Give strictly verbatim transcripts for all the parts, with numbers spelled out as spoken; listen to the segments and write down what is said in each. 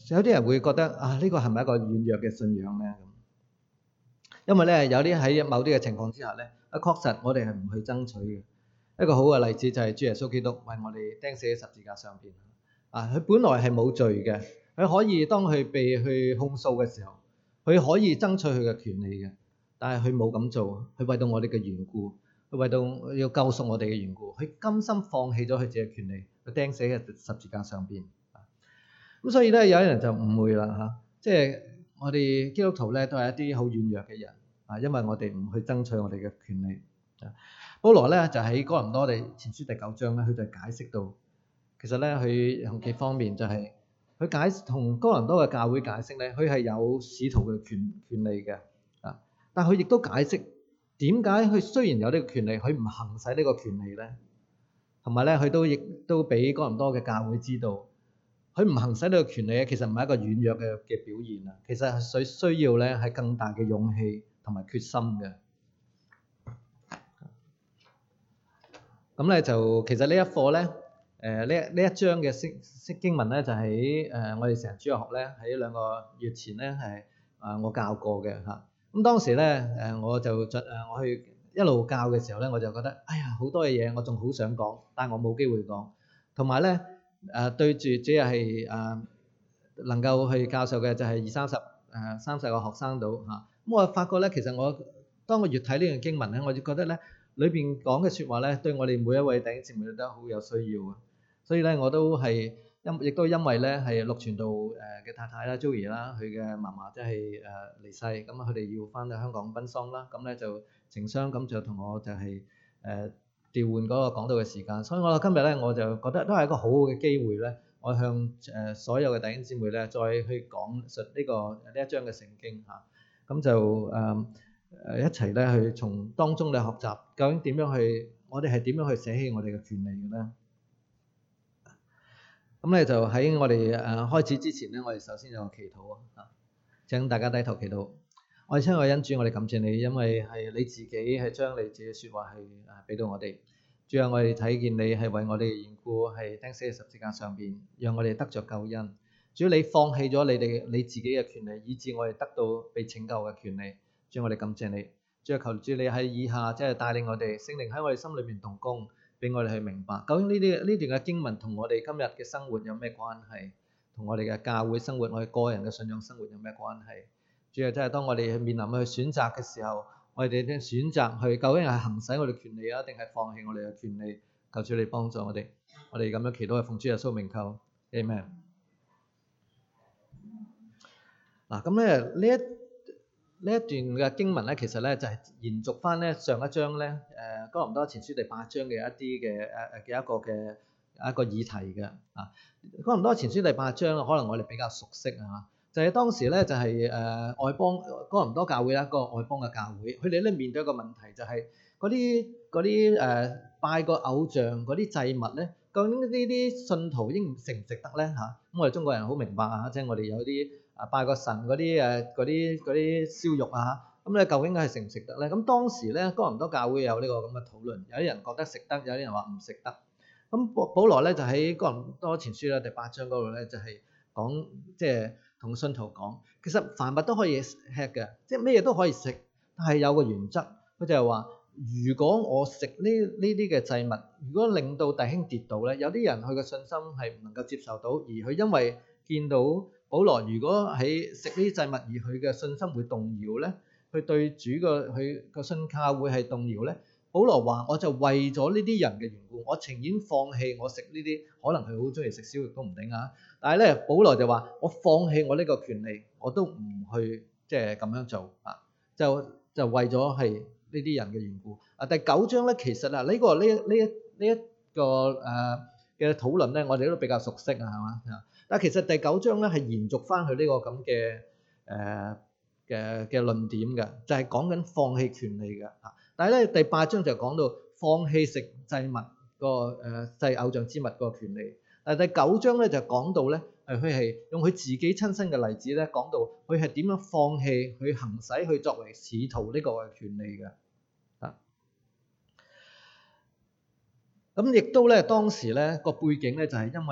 有啲人會覺得啊，呢個係咪一個軟弱嘅信仰咧？因為咧有啲喺某啲嘅情況之下咧，啊確實我哋係唔去爭取嘅。一個好嘅例子就係主耶穌基督為我哋釘死喺十字架上邊。啊，佢本來係冇罪嘅，佢可以當佢被去控訴嘅時候，佢可以爭取佢嘅權利嘅，但係佢冇咁做。佢為到我哋嘅緣故，佢為到要救贖我哋嘅緣故，佢甘心放棄咗佢自己嘅權利，佢釘死喺十字架上邊。咁所以咧，有啲人就誤會啦嚇，即係我哋基督徒咧都係一啲好軟弱嘅人啊，因為我哋唔去爭取我哋嘅權利。保羅咧就喺哥林多地前書第九章咧，佢就解釋到，其實咧佢有幾方面就係佢解同哥林多嘅教會解釋咧，佢係有使徒嘅權權利嘅啊，但係佢亦都解釋點解佢雖然有呢個權利，佢唔行使呢個權利咧，同埋咧佢都亦都俾哥林多嘅教會知道。佢唔行使呢個權利咧，其實唔係一個軟弱嘅嘅表現啊！其實係需需要咧係更大嘅勇氣同埋決心嘅。咁咧就其實呢一課咧，誒呢呢一章嘅釋釋經文咧，就喺誒我哋成日主日學咧喺兩個月前咧係啊我教過嘅嚇。咁當時咧誒我就誒我去一路教嘅時候咧，我就覺得哎呀好多嘅嘢我仲好想講，但係我冇機會講，同埋咧。誒、呃、對住主要係誒能夠去教授嘅就係二三十誒三十個學生度嚇，咁、啊、我發覺咧，其實我當我越睇呢段經文咧，我就覺得咧裏邊講嘅説話咧，對我哋每一位弟兄姊妹都好有需要嘅，所以咧我都係因亦都因為咧係陸傳道誒嘅太太啦 Joey 啦，佢嘅媽媽即係誒離世，咁佢哋要翻到香港奔喪啦，咁咧就情商咁就同我就係、是、誒。呃調換嗰個講道嘅時間，所以我今日咧我就覺得都係一個好好嘅機會咧，我向誒所有嘅弟兄姊妹咧再去講述呢個呢一章嘅聖經嚇，咁就誒誒一齊咧去從當中咧學習究竟點樣去，我哋係點樣去捨棄我哋嘅權利嘅咧？咁咧就喺我哋誒開始之前咧，我哋首先有個祈禱啊，請大家低頭祈禱。我哋親愛嘅恩主，我哋感謝你，因為係你自己係將你自己嘅説話係誒俾到我哋。主啊，我哋睇見你係為我哋嘅緣故係釘死喺十字架上邊，讓我哋得着救恩。主啊，你放棄咗你哋你自己嘅權利，以致我哋得到被拯救嘅權利。主啊，我哋感謝你。主啊，求主你喺以下即係帶領我哋，聖靈喺我哋心裏面動工，俾我哋去明白究竟呢啲呢段嘅經文同我哋今日嘅生活有咩關係，同我哋嘅教會生活、我哋個人嘅信仰生活有咩關係？主要真係當我哋面臨去選擇嘅時候，我哋點選擇去究竟係行使我哋權利啊，定係放棄我哋嘅權利？求主你幫助我哋，我哋咁樣祈禱係奉主耶穌名求 Amen。嗱，咁咧呢一呢一段嘅經文咧，其實咧就係延續翻咧上一章咧誒哥林多前書第八章嘅一啲嘅誒誒嘅一個嘅一個議題嘅啊。哥林多前書第八章可能我哋比較熟悉啊。就係當時咧，就係誒外邦哥林多教會啦，一個外邦嘅教會，佢哋咧面對一個問題，就係嗰啲嗰啲誒拜個偶像嗰啲祭物咧，究竟呢啲信徒應值唔值得咧嚇？咁我哋中國人好明白啊，即係我哋有啲啊拜個神嗰啲誒嗰啲嗰啲燒肉啊，咁咧究竟係值唔值得咧？咁當時咧哥林多教會有呢個咁嘅討論，有啲人覺得值得，有啲人話唔值得。咁保保羅咧就喺哥林多前書咧第八章嗰度咧就係講即係。同信徒講，其實凡物都可以吃嘅，即係咩嘢都可以食，但係有個原則，佢就係話：如果我食呢呢啲嘅祭物，如果令到弟兄跌倒咧，有啲人佢嘅信心係唔能夠接受到，而佢因為見到保羅如果喺食呢啲祭物，而佢嘅信心會動搖咧，佢對主嘅佢個信靠會係動搖咧。保羅話：我就為咗呢啲人嘅緣故，我情願放棄我食呢啲，可能佢好中意食燒肉都唔定啊。但係咧，保羅就話：我放棄我呢個權利，我都唔去即係咁樣做啊！就就為咗係呢啲人嘅緣故啊。第九章咧，其實啊，呢、這個呢呢一呢一個誒嘅討論咧，我哋都比較熟悉啊，係嘛？但係其實第九章咧係延續翻佢呢個咁嘅誒嘅嘅論點嘅，就係講緊放棄權利嘅啊。但係咧，第八章就講到放棄食祭物個誒祭偶像之物個權利。但係第九章咧就講到咧，誒佢係用佢自己親身嘅例子咧，講到佢係點樣放棄去行使佢作為使徒呢個嘅權利嘅。啊，咁亦都咧當時咧個背景咧就係因為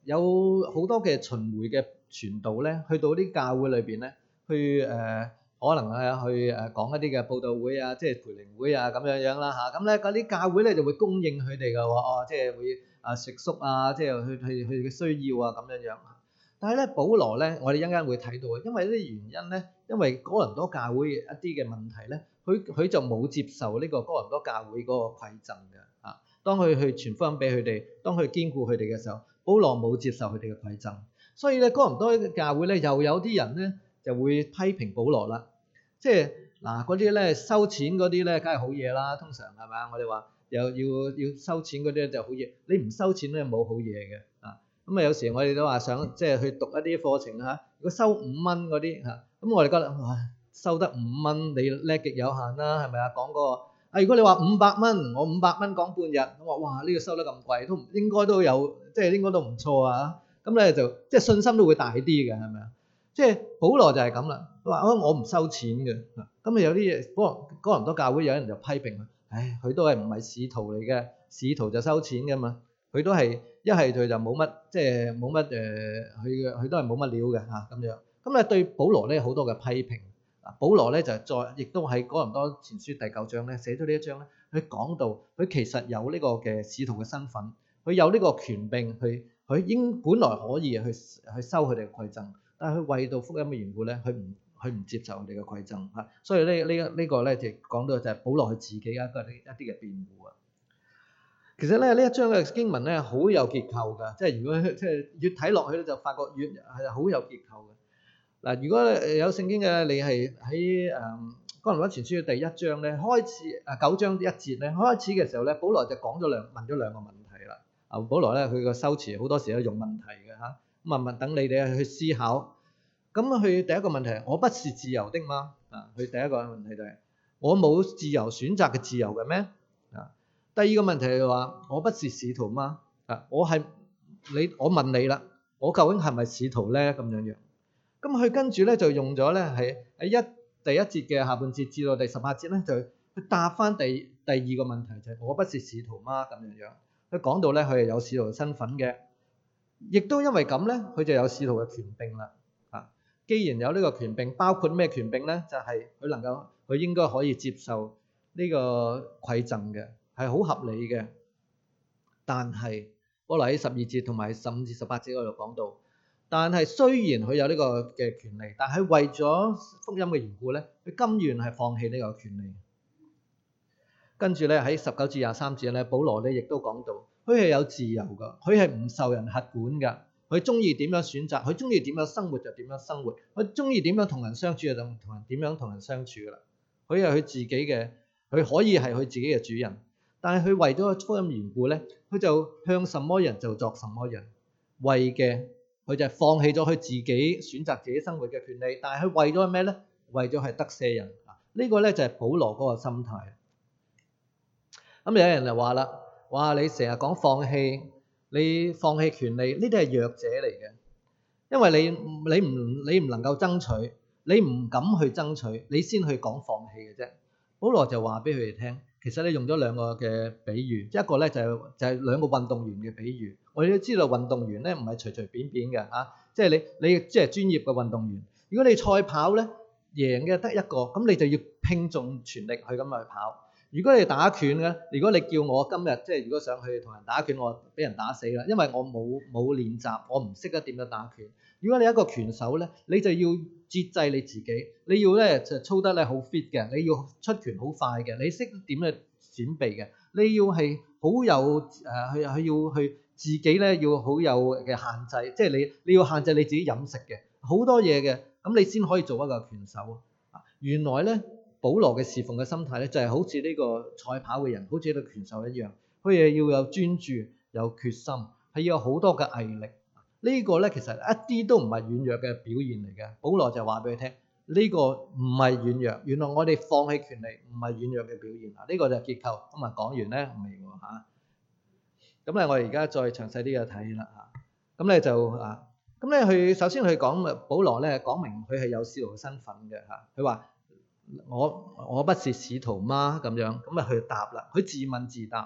有好多嘅巡迴嘅傳道咧，去到啲教會裏邊咧，去誒、呃、可能係去誒講一啲嘅佈道會啊，即係培靈會啊咁樣樣啦嚇。咁咧嗰啲教會咧就會供應佢哋嘅喎，哦，即係會啊食宿啊，即係去去佢嘅需要啊咁樣樣。但係咧，保羅咧，我哋一陣間會睇到嘅，因為呢啲原因咧，因為哥林多教會一啲嘅問題咧，佢佢就冇接受呢個哥林多教會嗰個饋贈嘅啊。當佢去傳福音俾佢哋，當佢堅固佢哋嘅時候，保羅冇接受佢哋嘅饋贈，所以咧哥林多教會咧又有啲人咧就會批評保羅啦，即係嗱嗰啲咧收錢嗰啲咧，梗係好嘢啦，通常係咪？我哋話又要要收錢嗰啲就好嘢，你唔收錢咧冇好嘢嘅啊。咁啊有時我哋都話想即係去讀一啲課程嚇，如果收五蚊嗰啲嚇，咁我哋覺得哇收得五蚊你叻極有限啦，係咪啊？講嗰個啊，如果你話五百蚊，我五百蚊講半日，我話哇呢個收得咁貴，都應該都有，即係應該都唔錯啊。咁咧就即係信心都會大啲嘅，係咪啊？即係保羅就係咁啦，佢話我唔收錢嘅。咁啊有啲嘢，哥哥林多教會有人就批評佢，唉，佢都係唔係使徒嚟嘅，使徒就收錢㗎嘛，佢都係一係佢就冇乜，即係冇乜誒，佢佢都係冇乜料嘅嚇咁樣。咁咧對保羅咧好多嘅批評。保羅咧就再亦都喺哥林多前書第九章咧寫咗呢一章咧，佢講到佢其實有呢個嘅使徒嘅身份，佢有呢個權柄，去佢應本來可以去去收佢哋嘅饋贈，但係佢為到福音嘅緣故咧，佢唔佢唔接受佢哋嘅饋贈嚇，所以呢呢呢個咧就講到就係保羅佢自己一個一啲嘅辯護啊。其實咧呢一章嘅經文咧好有結構㗎，即係如果即係越睇落去咧就發覺越係好有結構嘅。嗱，如果有聖經嘅，你係喺誒哥林多前書嘅第一章咧，開始誒九章一節咧，開始嘅時候咧，保羅就講咗兩問咗兩個問題啦。啊，保羅咧佢個修辭好多時都用問題嘅嚇，咁啊問等你哋去思考。咁佢第一個問題，我不是自由的嗎？啊，佢第一個問題就係我冇自由選擇嘅自由嘅咩？啊，第二個問題係話我不是使徒嗎？啊，我係你，我問你啦，我究竟係咪使徒咧？咁樣樣。咁佢跟住咧就用咗咧係喺一第一節嘅下半節至到第十八節咧，就去答翻第第二個問題，就係我不是使徒嗎？咁樣樣，佢講到咧佢係有使徒嘅身份嘅，亦都因為咁咧，佢就有使徒嘅權柄啦。啊，既然有呢個權柄，包括咩權柄咧？就係佢能夠，佢應該可以接受呢個饋贈嘅，係好合理嘅。但係我嚟喺十二節同埋十五至十八節嗰度講到。但係雖然佢有呢個嘅權利，但係為咗福音嘅緣故咧，佢甘願係放棄呢個權利。跟住咧喺十九至廿三節咧，保羅咧亦都講到，佢係有自由噶，佢係唔受人轄管噶，佢中意點樣選擇，佢中意點樣生活就點樣生活，佢中意點樣同人相處就同人點樣同人相處噶啦。佢係佢自己嘅，佢可以係佢自己嘅主人，但係佢為咗福音緣故咧，佢就向什麼人就作什麼人，為嘅。佢就係放棄咗佢自己選擇自己生活嘅權利，但係佢為咗咩咧？為咗係得赦人啊！呢個咧就係保羅嗰個心態。咁有人就話啦：哇！你成日講放棄，你放棄權利，呢啲係弱者嚟嘅，因為你你唔你唔能夠爭取，你唔敢去爭取，你先去講放棄嘅啫。保羅就話俾佢哋聽，其實你用咗兩個嘅比喻，一個咧就係就係兩個運動員嘅比喻。我哋都知道運動員咧唔係隨隨便便嘅嚇，即係你你即係專業嘅運動員。如果你賽跑咧贏嘅得一個，咁你就要拼盡全力去咁去跑。如果你打拳嘅，如果你叫我今日即係如果想去同人打拳，我俾人打死啦，因為我冇冇練習，我唔識得點樣打拳。如果你一個拳手咧，你就要節制你自己，你要咧就操得咧好 fit 嘅，你要出拳好快嘅，你識點去閃避嘅，你要係好有誒去去要去。自己咧要好有嘅限制，即係你你要限制你自己飲食嘅好多嘢嘅，咁你先可以做一個拳手啊！原來咧，保羅嘅侍奉嘅心態咧就係好似呢個賽跑嘅人，好似呢個拳手一樣，佢係要有專注、有決心，係要有好多嘅毅力。呢個咧其實一啲都唔係軟弱嘅表現嚟嘅。保羅就話俾佢聽，呢個唔係軟弱，原來我哋放棄權利唔係軟弱嘅表現啊！呢個就係結構。咁啊講完咧未喎嚇？咁咧，我哋而家再詳細啲嘅睇啦嚇。咁咧就啊，咁咧佢首先佢講保羅咧講明佢係有使徒嘅身份嘅嚇。佢話我我不是使徒嗎？咁樣咁啊，佢答啦，佢自問自答。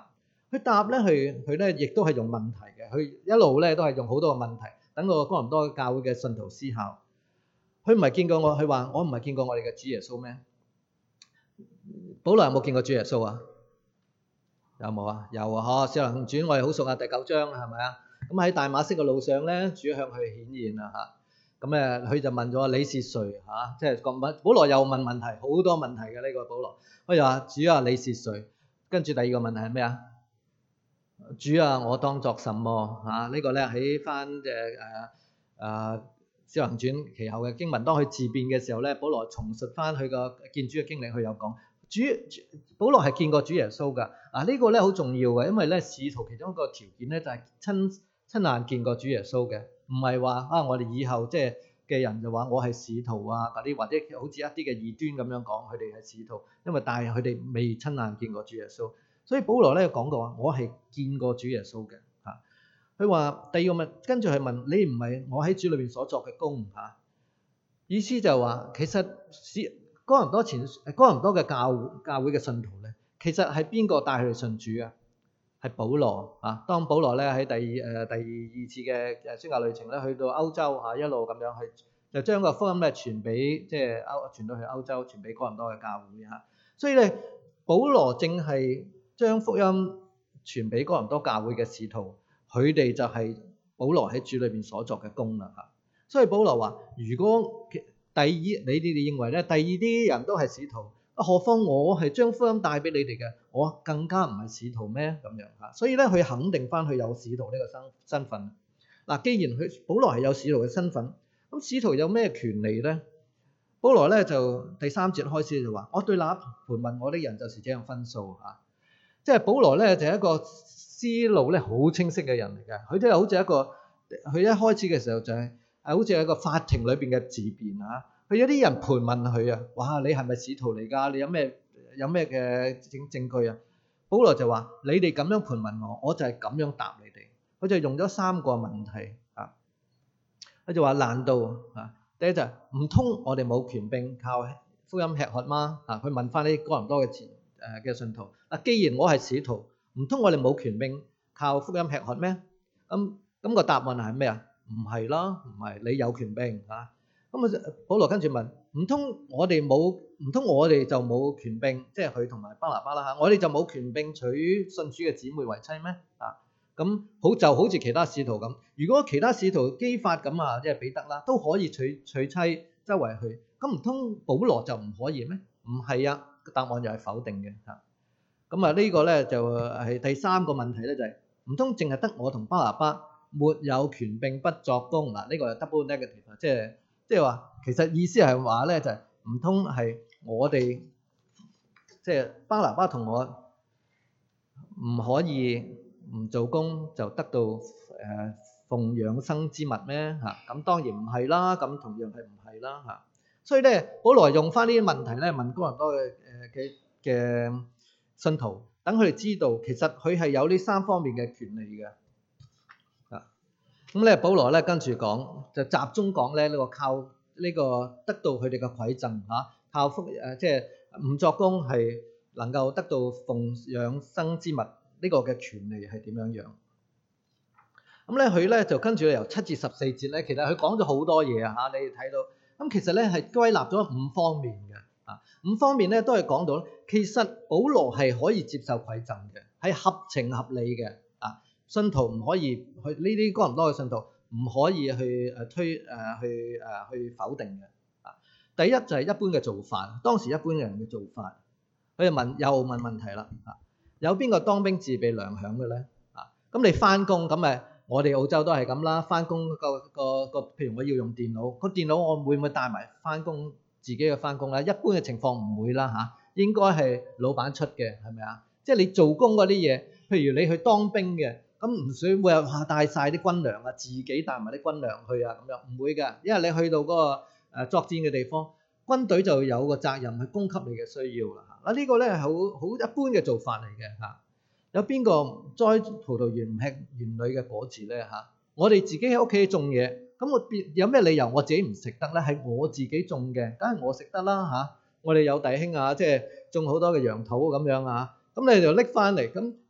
佢答咧，佢佢咧亦都係用問題嘅，佢一路咧都係用好多個問題，等個哥林多教會嘅信徒思考。佢唔係見過我，佢話我唔係見過我哋嘅主耶穌咩？保羅有冇見過主耶穌啊？有冇啊？有啊！嗬，《使徒行傳》我哋好熟啊，第九章係咪啊？咁喺大馬色嘅路上咧，主向佢顯現啦嚇。咁誒，佢就問咗你是誰嚇？即係問保羅又問問題，好多問題嘅呢個保羅。佢就話主啊，你是誰？跟住第二個問題係咩啊？主啊，我當作什麼嚇？呢個咧喺翻誒誒誒《使徒行傳》其後嘅經文，當佢自辯嘅時候咧，保羅重述翻佢個見主嘅經歷，佢有講。主保羅係見過主耶穌㗎，啊、這個、呢個咧好重要嘅，因為咧使徒其中一個條件咧就係親親眼見過主耶穌嘅，唔係話啊我哋以後即係嘅人就話我係使徒啊嗰啲，或者好似一啲嘅異端咁樣講佢哋係使徒，因為但係佢哋未親眼見過主耶穌，所以保羅咧講過話我係見過主耶穌嘅嚇。佢話第二個問，跟住係問你唔係我喺主裏邊所作嘅工嚇、啊，意思就話其實是。哥林多前哥林多嘅教教會嘅信徒咧，其實係邊個帶佢哋信主啊？係保羅啊！當保羅咧喺第二誒第二次嘅誒宣教旅程咧，去到歐洲嚇，一路咁樣去，就將個福音咧傳俾即係歐傳到去歐洲，傳俾哥林多嘅教會嚇。所以咧，保羅正係將福音傳俾哥林多教會嘅使徒，佢哋就係保羅喺主裏邊所作嘅工啦嚇。所以保羅話：如果第二，你哋哋認為咧，第二啲人都係使徒，何況我係將福音帶俾你哋嘅，我更加唔係使徒咩？咁樣嚇，所以咧佢肯定翻佢有使徒呢個身身份。嗱，既然佢保羅係有使徒嘅身份，咁使徒有咩權利咧？保羅咧就第三節開始就話：我對那盤問我的人就是這樣分數嚇，即係保羅咧就係一個思路咧好清晰嘅人嚟嘅，佢都係好似一個佢一開始嘅時候就係。係好似喺個法庭裏邊嘅自辯啊！佢有啲人盤問佢啊，哇！你係咪使徒嚟㗎？你有咩有咩嘅證證據啊？保羅就話：你哋咁樣盤問我，我就係咁樣答你哋。佢就用咗三個問題啊。佢就話：難道啊？第一就係唔通我哋冇權柄靠福音吃喝嗎？啊！佢問翻啲哥林多嘅前誒嘅信徒。嗱，既然我係使徒，唔通我哋冇權柄靠福音吃喝咩？咁咁個答案係咩啊？唔係啦，唔係你有權柄嚇。咁啊，保羅跟住問：唔通我哋冇？唔通我哋就冇權柄？即係佢同埋巴拿巴啦嚇，我哋就冇權柄娶信主嘅姊妹為妻咩？啊，咁好就好似其他使徒咁。如果其他使徒基法咁啊，即係彼得啦，都可以娶娶妻周圍去，咁唔通保羅就唔可以咩？唔係啊，答案又係否定嘅嚇。咁啊，呢個咧就係第三個問題咧，就係唔通淨係得我同巴拿巴？沒有權柄不作工嗱，呢個係 double negative，即係即係話其實意思係話咧就係唔通係我哋即係巴拿巴同我唔可以唔做工就得到誒奉養生之物咩嚇？咁當然唔係啦，咁同樣係唔係啦嚇？所以咧，保羅用翻呢啲問題咧問哥林多嘅誒嘅嘅信徒，等佢哋知道其實佢係有呢三方面嘅權利嘅。咁咧，保羅咧跟住講，就集中講咧呢個靠呢個得到佢哋嘅饋贈嚇，靠福誒即係唔作工係能夠得到奉養生之物呢個嘅權利係點樣樣？咁咧佢咧就跟住由七至十四節咧，其實佢講咗好多嘢啊嚇，你哋睇到。咁其實咧係歸納咗五方面嘅啊，五方面咧都係講到，其實保羅係可以接受饋贈嘅，係合情合理嘅。信徒唔可以去呢啲哥林多嘅信徒唔可以去誒推誒、呃、去誒、呃、去否定嘅啊。第一就係一般嘅做法，當時一般人嘅做法，佢就問又問問題啦啊。有邊個當兵自備糧餉嘅咧啊？咁你翻工咁誒，我哋澳洲都係咁啦。翻工個個個，譬如我要用電腦，個電腦我會唔會帶埋翻工自己嘅翻工咧？一般嘅情況唔會啦嚇，應該係老闆出嘅，係咪啊？即係你做工嗰啲嘢，譬如你去當兵嘅。咁唔需會有話帶曬啲軍糧啊，自己帶埋啲軍糧去啊，咁樣唔會㗎，因為你去到嗰個誒作戰嘅地方，軍隊就有個責任去供給你嘅需要啦嚇。嗱呢個咧係好好一般嘅做法嚟嘅嚇。有邊個栽葡萄園唔吃園裏嘅果子咧嚇？我哋自己喺屋企種嘢，咁我別有咩理由我自己唔食得咧？係我自己種嘅，梗係我食得啦嚇。我哋有弟兄啊，即係種好多嘅楊桃咁樣啊。咁你就拎翻嚟，咁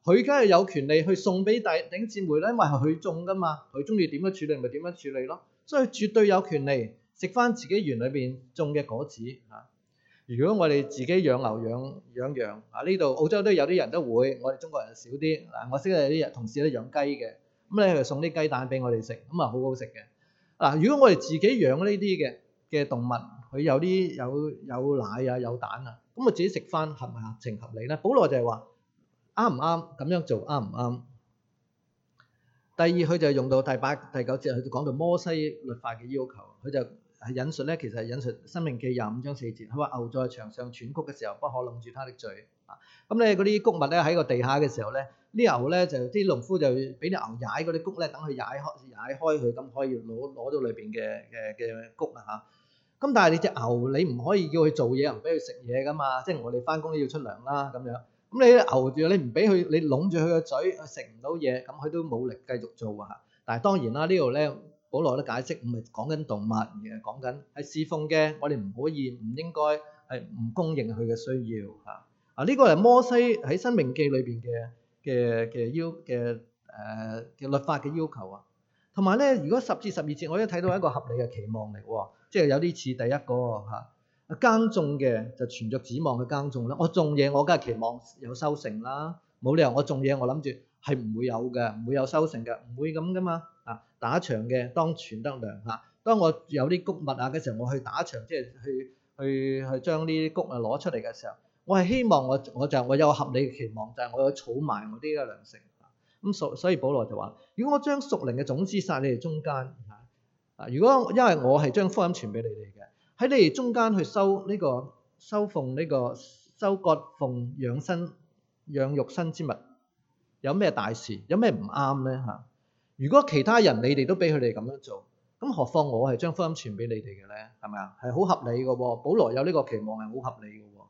佢梗係有權利去送俾弟兄姊妹啦，因為係佢種噶嘛，佢中意點樣處理咪點樣處理咯，所以絕對有權利食翻自己園裏邊種嘅果子嚇。如果我哋自己養牛養養羊啊，呢度澳洲都有啲人都會，我哋中國人少啲嗱。我識有啲人同事咧養雞嘅，咁咧佢送啲雞蛋俾我哋食，咁啊好好食嘅嗱。如果我哋自己養呢啲嘅嘅動物，佢有啲有有奶啊有蛋啊，咁我自己食翻合唔合情合理咧？保羅就係話啱唔啱咁樣做啱唔啱？第二佢就用到第八第九節，佢就講到摩西律法嘅要求，佢就係引述咧，其實係引述申命記廿五章四節，佢話牛在場上喘曲嘅時候，不可擸住它的嘴啊。咁咧嗰啲穀物咧喺個地下嘅時候咧，啲牛咧就啲農夫就俾啲牛踩嗰啲穀咧，等佢踩開踩開佢，咁可以攞攞到裏邊嘅嘅嘅穀啊嚇。咁但係你隻牛你唔可以叫佢做嘢，唔俾佢食嘢噶嘛，即係我哋翻工都要出糧啦咁樣。咁你牛住你唔俾佢，你攏住佢個嘴，佢食唔到嘢，咁佢都冇力繼續做啊。但係當然啦，呢度咧保羅都解釋，唔係講緊動物，而係講緊係侍奉嘅，我哋唔可以唔應該係唔供應佢嘅需要嚇。啊，呢個係摩西喺申命記裏邊嘅嘅嘅要嘅誒嘅律法嘅要求啊。同埋咧，如果十至十二節我都睇到一個合理嘅期望嚟喎，即係有啲似第一個嚇。耕種嘅就存着指望去耕種啦。我種嘢我梗係期望有收成啦，冇理由我種嘢我諗住係唔會有嘅，唔會有收成嘅，唔會咁噶嘛。啊，打場嘅當存得糧嚇。當我有啲穀物啊嘅時候，我去打場，即係去去去將呢啲穀啊攞出嚟嘅時候，我係希望我我就我有合理嘅期望，就係、是、我要儲埋我啲嘅糧食。咁所所以保羅就話：如果我將屬靈嘅種子撒你哋中間嚇，啊，如果因為我係將福音傳俾你哋嘅。喺你哋中間去收呢、這個收奉呢、這個收割奉養生養育生之物，有咩大事？有咩唔啱咧嚇？如果其他人你哋都俾佢哋咁樣做，咁何況我係將福音傳俾你哋嘅咧？係咪啊？係好合理嘅喎。保羅有呢個期望係好合理嘅喎。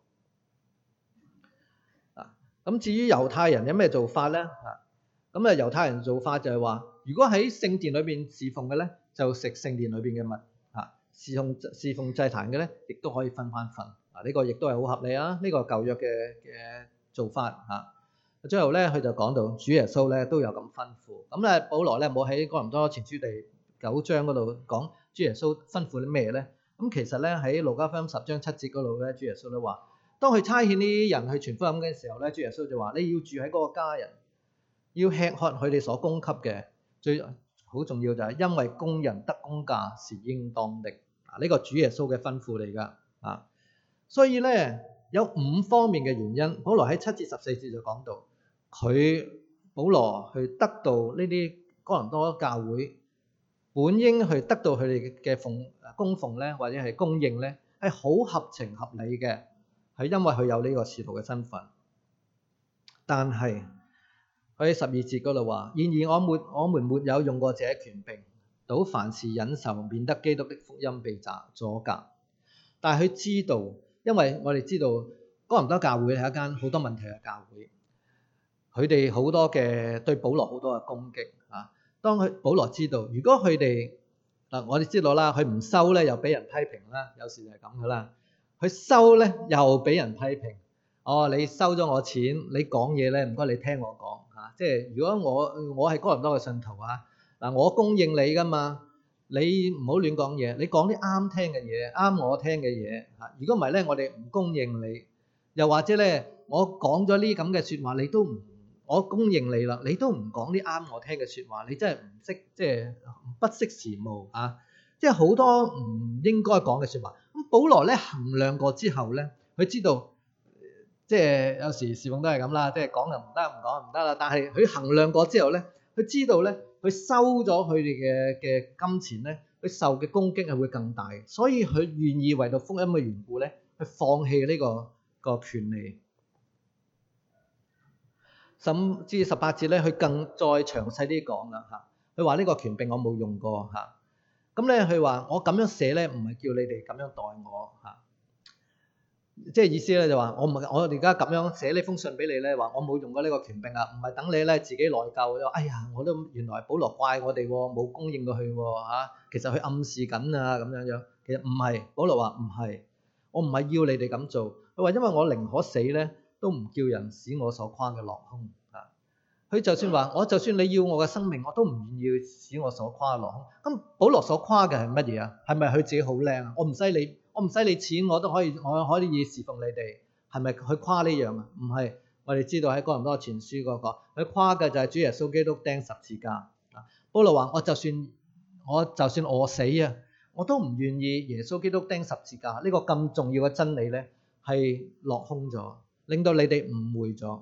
啊，咁至於猶太人有咩做法咧？嚇，咁啊猶太人做法就係話，如果喺聖殿裏邊侍奉嘅咧，就食聖殿裏邊嘅物。侍奉侍奉祭壇嘅咧，亦都可以分翻份。嗱，呢個亦都係好合理啊！呢個舊約嘅嘅做法嚇。最後咧，佢就講到主耶穌咧都有咁吩咐。咁咧，保羅咧冇喺哥林多前書第九章嗰度講主耶穌吩咐啲咩咧？咁其實咧喺路加福音十章七節嗰度咧，主耶穌都話：當佢差遣呢啲人去傳福音嘅時候咧，主耶穌就話：你要住喺嗰個家人，要吃喝佢哋所供給嘅。最好重要就係因為工人得工價是應當的。啊！呢個主耶穌嘅吩咐嚟㗎啊，所以咧有五方面嘅原因。保羅喺七至十四節就講到，佢保羅去得到呢啲哥林多教會本應去得到佢哋嘅奉供奉咧，或者係供應咧，係好合情合理嘅，係因為佢有呢個使徒嘅身份。但係佢喺十二節嗰度話：然而我沒我們沒有用過這權柄。到凡事忍受，免得基督的福音被阻隔。但係佢知道，因為我哋知道哥林多教會係一間好多問題嘅教會，佢哋好多嘅對保羅好多嘅攻擊啊。當佢保羅知道，如果佢哋嗱，我哋知道啦，佢唔收咧又俾人批評啦，有時就係咁噶啦。佢收咧又俾人批評。哦，你收咗我錢，你講嘢咧唔該你聽我講嚇。即係如果我我係哥林多嘅信徒啊。嗱，我供應你噶嘛，你唔好亂講嘢，你講啲啱聽嘅嘢，啱我聽嘅嘢嚇。如果唔係咧，我哋唔供應你，又或者咧，我講咗呢咁嘅説話，你都唔，我供應你啦，你都唔講啲啱我聽嘅説話，你真係唔識，即係不識時務啊！即係好多唔應該講嘅説話。咁保羅咧衡量過之後咧，佢知道，即係有時侍奉都係咁啦，即係講就唔得，唔講就唔得啦。但係佢衡量過之後咧，佢知道咧。佢收咗佢哋嘅嘅金錢咧，佢受嘅攻擊係會更大，所以佢願意為到福音嘅緣故咧，去放棄呢個個權利。甚至十八節咧，佢更再詳細啲講啦嚇。佢話呢個權柄我冇用過嚇。咁咧佢話我咁樣寫咧，唔係叫你哋咁樣待我嚇。即係意思咧就話我唔我而家咁樣寫呢封信俾你咧，話我冇用過呢個權柄啊，唔係等你咧自己內疚。哎呀，我都原來保羅怪我哋冇供應過去嚇，其實佢暗示緊啊咁樣樣。其實唔係，保羅話唔係，我唔係要你哋咁做。佢話因為我寧可死咧，都唔叫人使我所誇嘅落空啊。 佢就算話我就算你要我嘅生命，我都唔願意使我所誇落空。咁保羅所誇嘅係乜嘢啊？係咪佢自己好靚啊？我唔使你，我唔使你錢，我都可以，我可以侍奉你哋。係咪佢誇呢樣啊？唔係，我哋知道喺哥林多前書嗰個，佢誇嘅就係主耶穌基督釘十字架。保羅話：我就算我就算餓死啊，我都唔願意耶穌基督釘十字架呢個咁重要嘅真理咧，係落空咗，令到你哋誤會咗。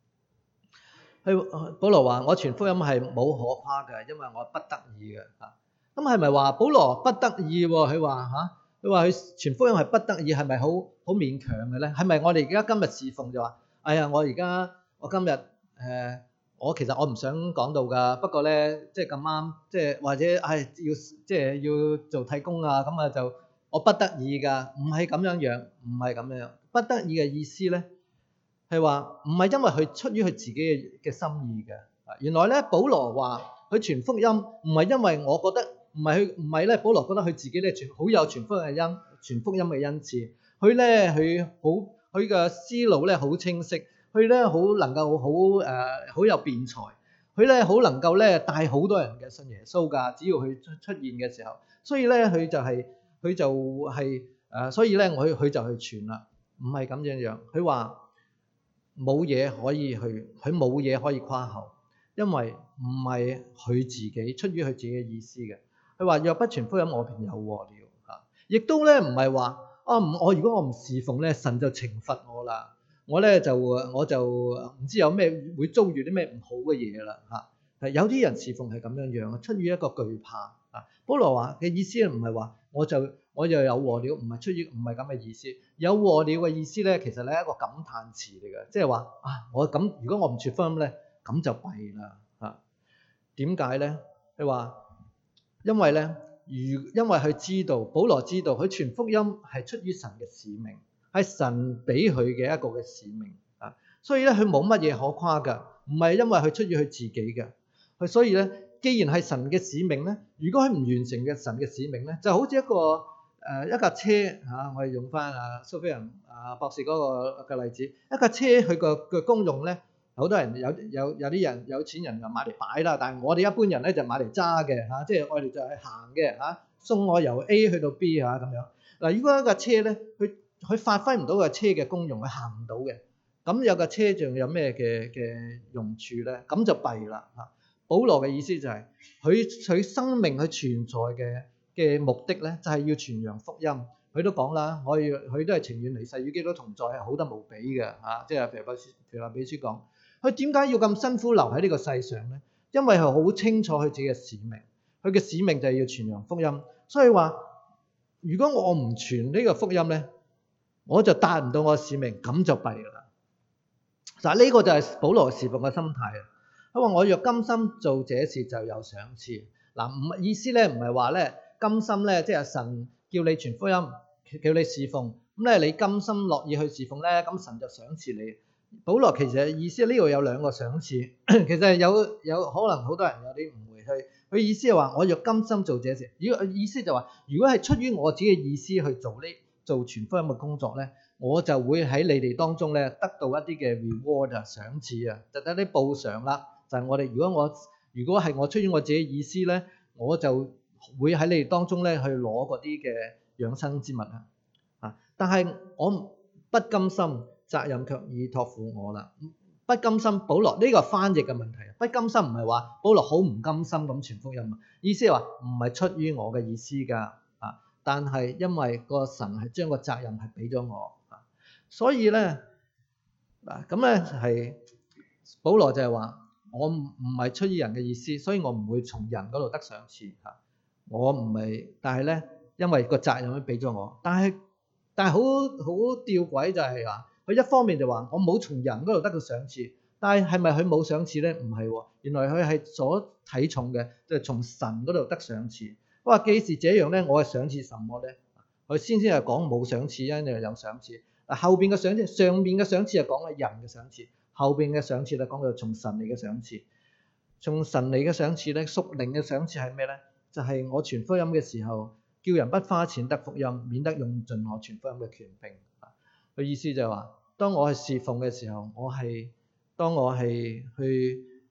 佢保羅話：我傳福音係冇可誇嘅，因為我不得已嘅。嚇，咁係咪話保羅不得已？佢話嚇，佢話佢傳福音係不得已，係咪好好勉強嘅咧？係咪我哋而家今日侍奉就話：哎呀，我而家我今日誒。呃我其實我唔想講到㗎，不過咧即係咁啱，即係或者係、哎、要即係要做替工啊，咁啊就我不得已㗎，唔係咁樣樣，唔係咁樣樣。不得已嘅意思咧係話唔係因為佢出於佢自己嘅嘅心意嘅。原來咧保羅話佢傳福音唔係因為我覺得唔係佢唔係咧，保羅覺得佢自己咧傳好有傳福音嘅恩傳福音嘅恩賜，佢咧佢好佢嘅思路咧好清晰。佢咧好能夠好誒好有辯才，佢咧好能夠咧帶好多人嘅信耶穌㗎。只要佢出出現嘅時候，所以咧佢就係、是、佢就係、是、誒、呃，所以咧我佢就去傳啦，唔係咁樣樣。佢話冇嘢可以去，佢冇嘢可以誇口，因為唔係佢自己出於佢自己嘅意思嘅。佢話若不傳福音，我便有禍了嚇。亦都咧唔係話啊唔我如果我唔侍奉咧，神就懲罰我啦。我咧就我就唔知有咩會遭遇啲咩唔好嘅嘢啦嚇。有啲人侍奉係咁樣樣，出於一個懼怕啊。保羅話嘅意思唔係話我就我又有禍了，唔係出於唔係咁嘅意思。有禍了嘅意思咧，其實咧係一個感嘆詞嚟嘅，即係話啊，我咁如果我唔傳福音咧，咁就弊啦嚇。點解咧？佢話因為咧，如因為佢知道，保羅知道佢傳福音係出於神嘅使命。係神俾佢嘅一個嘅使命啊，所以咧佢冇乜嘢可誇㗎，唔係因為佢出於佢自己嘅，佢所以咧，既然係神嘅使命咧，如果佢唔完成嘅神嘅使命咧，就好似一個誒、呃、一架車嚇、啊，我哋用翻阿蘇菲人阿博士嗰個嘅例子，一架車佢個嘅功用咧，好多人有有有啲人有錢人就買嚟擺啦，但係我哋一般人咧就買嚟揸嘅嚇，即係我哋就係行嘅嚇，送我由 A 去到 B 嚇咁樣。嗱，如果一架車咧，佢佢發揮唔到個車嘅功用，佢行唔到嘅，咁有架車仲有咩嘅嘅用處咧？咁就弊啦嚇。保羅嘅意思就係佢佢生命佢存在嘅嘅目的咧，就係要傳揚福音。佢都講啦，我佢都係情願離世與基督同在，係好得無比嘅嚇。即係腓立比書講，佢點解要咁辛苦留喺呢個世上咧？因為係好清楚佢自己嘅使命，佢嘅使命就係要傳揚福音。所以話，如果我唔傳呢個福音咧，我就達唔到我嘅使命，咁就弊啦。嗱，呢個就係保羅侍奉嘅心態啊。佢話：我若甘心做這事，就有賞賜。嗱，唔意思咧，唔係話咧甘心咧，即係神叫你傳福音，叫你侍奉，咁咧你甘心樂意去侍奉咧，咁神就賞賜你。保羅其實意思呢度有兩個賞賜，其實有有可能好多人有啲誤會去。佢意思係話：我若甘心做這事，如果意思就話，如果係出於我自己嘅意思去做呢？做傳福音嘅工作咧，我就會喺你哋當中咧得到一啲嘅 reward 啊，賞賜啊，就等啲報償啦。就係、是、我哋如果我如果係我出於我自己意思咧，我就會喺你哋當中咧去攞嗰啲嘅養生之物啊。啊，但係我不甘心，責任卻已託付我啦。不甘心，保羅呢、這個翻譯嘅問題。不甘心唔係話保羅好唔甘心咁傳福音啊，意思係話唔係出於我嘅意思㗎。但係因為個神係將個責任係俾咗我，所以咧嗱咁咧係保羅就係話我唔唔係出於人嘅意思，所以我唔會從人嗰度得賞賜嚇。我唔係，但係咧因為個責任都俾咗我，但係但係好好吊詭就係話佢一方面就話我冇從人嗰度得到賞賜，但係係咪佢冇賞賜咧？唔係喎，原來佢係所睇重嘅就係從神嗰度得賞賜。我話既是這樣咧，我係賞賜什麼咧？佢先先係講冇賞賜，因為有賞賜。嗱，後邊嘅賞賜，上邊嘅賞賜係講嘅人嘅賞賜，後邊嘅賞賜咧講嘅從神嚟嘅賞賜。從神嚟嘅賞賜咧，屬靈嘅賞賜係咩咧？就係、是、我傳福音嘅時候，叫人不花錢得福音，免得用盡我傳福音嘅權柄。佢意思就係話，當我係侍奉嘅時候，我係當我係去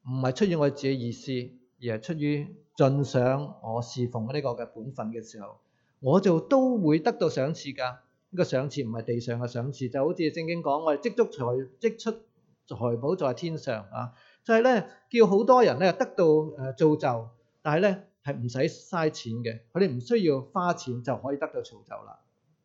唔係出於我自己意思，而係出於盡上我侍奉呢個嘅本分嘅時候，我就都會得到賞賜㗎。呢個賞賜唔係地上嘅賞賜，就好似聖經講，我哋積足財積出財寶在天上啊，就係咧叫好多人咧得到誒造就，但係咧係唔使嘥錢嘅，佢哋唔需要花錢就可以得到造就啦。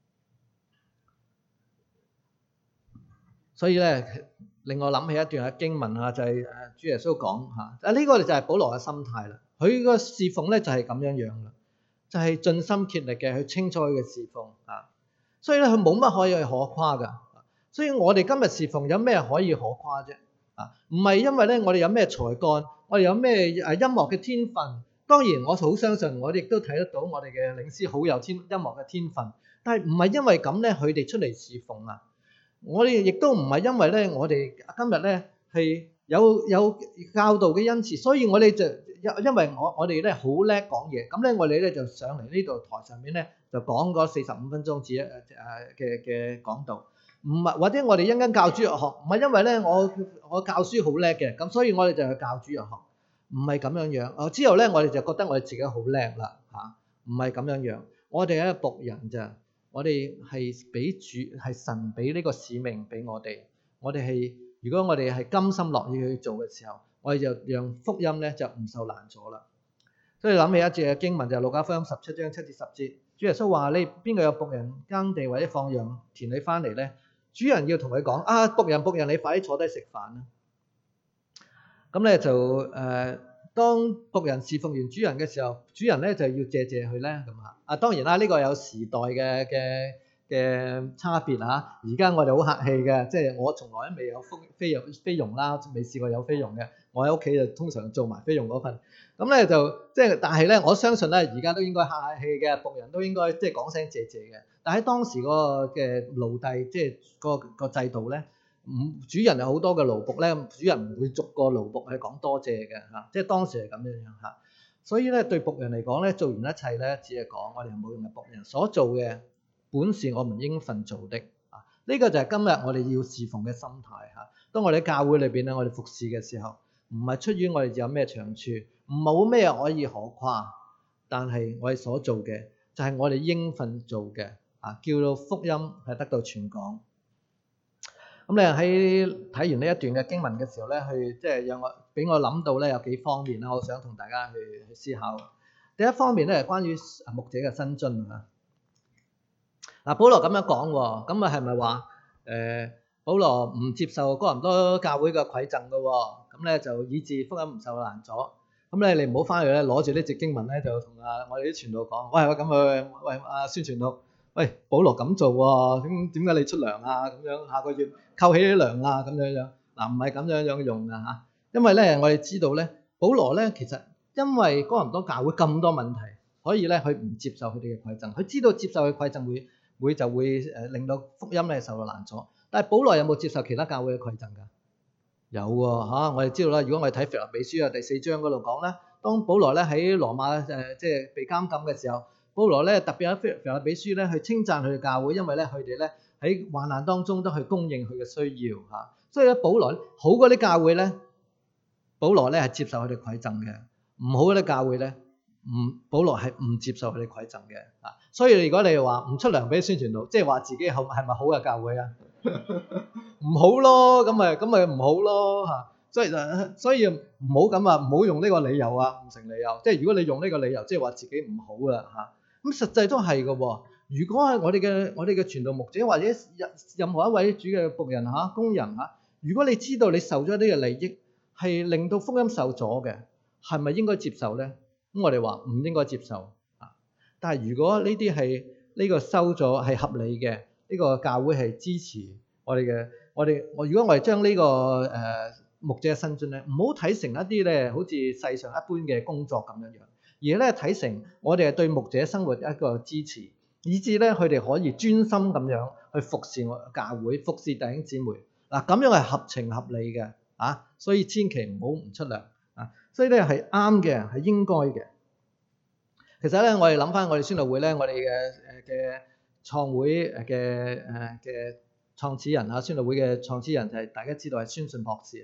所以咧令我諗起一段嘅經文啊，就係誒主耶穌講嚇，啊呢個就係保羅嘅心態啦。佢個侍奉咧就係咁樣樣啦，就係盡心竭力嘅去清楚佢嘅侍奉啊。所以咧佢冇乜可以可誇噶。所以我哋今日侍奉有咩可以可誇啫？啊，唔係因為咧我哋有咩才幹，我哋有咩誒音樂嘅天分。當然我好相信，我哋亦都睇得到我哋嘅領詩好有天音樂嘅天分。但係唔係因為咁咧，佢哋出嚟侍奉啊。我哋亦都唔係因為咧，我哋今日咧係有有教導嘅恩賜，所以我哋就因因為我我哋咧好叻講嘢，咁咧我哋咧就上嚟呢度台上面咧就講嗰四十五分鐘至誒誒嘅嘅講道，唔係或者我哋一間教主日學，唔係因為咧我我教書好叻嘅，咁所以我哋就去教主日學，唔係咁樣樣。哦之後咧我哋就覺得我哋自己好叻啦嚇，唔係咁樣樣，我哋係一個僕人咋。我哋係俾主係神俾呢個使命俾我哋，我哋係如果我哋係甘心樂意去做嘅時候，我哋就讓福音咧就唔受攔阻啦。所以諗起一節嘅經文就係路加福音十七章七至十節，主耶穌話：你邊個有僕人耕地或者放羊田裏翻嚟咧？主人要同佢講：啊，僕人僕人，你快啲坐低食飯啦！咁咧就誒。呃當僕人侍奉完主人嘅時候，主人咧就要謝謝佢咧咁啊！啊當然啦，呢、這個有時代嘅嘅嘅差別嚇。而家我哋好客氣嘅，即係我從來都未有菲傭菲傭啦，未試過有菲傭嘅。我喺屋企就通常做埋菲傭嗰份。咁咧就即係，但係咧我相信咧，而家都應該客氣嘅，僕人都應該即係講聲謝謝嘅。但喺當時嗰個嘅奴隸，即係個個制度咧。唔，主人有好多嘅奴僕咧，主人唔會逐個奴僕去講多謝嘅嚇，即係當時係咁樣樣嚇。所以咧對僕人嚟講咧，做完一切咧，只係講我哋冇用嘅僕人所做嘅本是我們應份做的啊。呢個就係今日我哋要侍奉嘅心態嚇。當我哋喺教會裏邊咧，我哋服侍嘅時候，唔係出於我哋有咩長處，唔冇咩可以可誇，但係我哋所做嘅就係我哋應份做嘅啊，叫到福音係得到傳講。咁咧喺睇完呢一段嘅經文嘅時候咧，去即係讓我俾我諗到咧有幾方面啦，我想同大家去去思考。第一方面咧係關於牧者嘅薪津啊。嗱，保羅咁樣講喎，咁啊係咪話誒保羅唔接受哥林多教會嘅饋贈嘅喎？咁咧就以致福音唔受攔阻。咁咧你唔好翻去咧攞住呢節經文咧就同啊我哋啲傳道講，喂喂咁去喂啊宣傳道。喂，保羅咁做喎，點點解你出糧啊？咁樣下個月扣起啲糧啊？咁樣樣嗱，唔係咁樣樣用噶嚇，因為咧我哋知道咧，保羅咧其實因為哥林多教會咁多問題，所以咧佢唔接受佢哋嘅饋贈，佢知道接受佢饋贈會會就會誒令到福音咧受到攔阻。但係保羅有冇接受其他教會嘅饋贈㗎？有喎嚇，我哋知道啦。如果我哋睇腓立比書啊第四章嗰度講咧，當保羅咧喺羅馬誒即係被監禁嘅時候。保羅咧特別喺腓立比書咧去稱讚佢嘅教會，因為咧佢哋咧喺患難當中都去供應佢嘅需要嚇，所以咧保羅好嗰啲教會咧，保羅咧係接受佢哋饋贈嘅；唔好嗰啲教會咧，唔保羅係唔接受佢哋饋贈嘅啊。所以如果你話唔出糧俾宣傳道，即係話自己係係咪好嘅教會啊？唔好咯，咁咪咁咪唔好咯嚇。所以所以唔好咁啊，唔好用呢個理由啊，唔成理由。即係如果你用呢個理由，即係話自己唔好啦嚇。咁實際都係嘅喎。如果係我哋嘅我哋嘅傳道牧者或者任任何一位主嘅僕人嚇工人嚇，如果你知道你受咗呢個利益係令到福音受阻嘅，係咪應該接受咧？咁我哋話唔應該接受啊。但係如果呢啲係呢個收咗係合理嘅，呢個教會係支持我哋嘅，我哋我如果我哋將呢個誒牧者嘅薪津咧，唔好睇成一啲咧好似世上一般嘅工作咁樣樣。而咧睇成我哋係對牧者生活一個支持，以至咧佢哋可以專心咁樣去服侍我教會，服侍弟兄姊妹。嗱，咁樣係合情合理嘅啊，所以千祈唔好唔出糧啊。所以咧係啱嘅，係應該嘅。其實咧，我哋諗翻我哋宣道會咧，我哋嘅誒嘅創會嘅誒嘅創始人啊，宣道會嘅創始人就係大家知道係宣信博士嚇。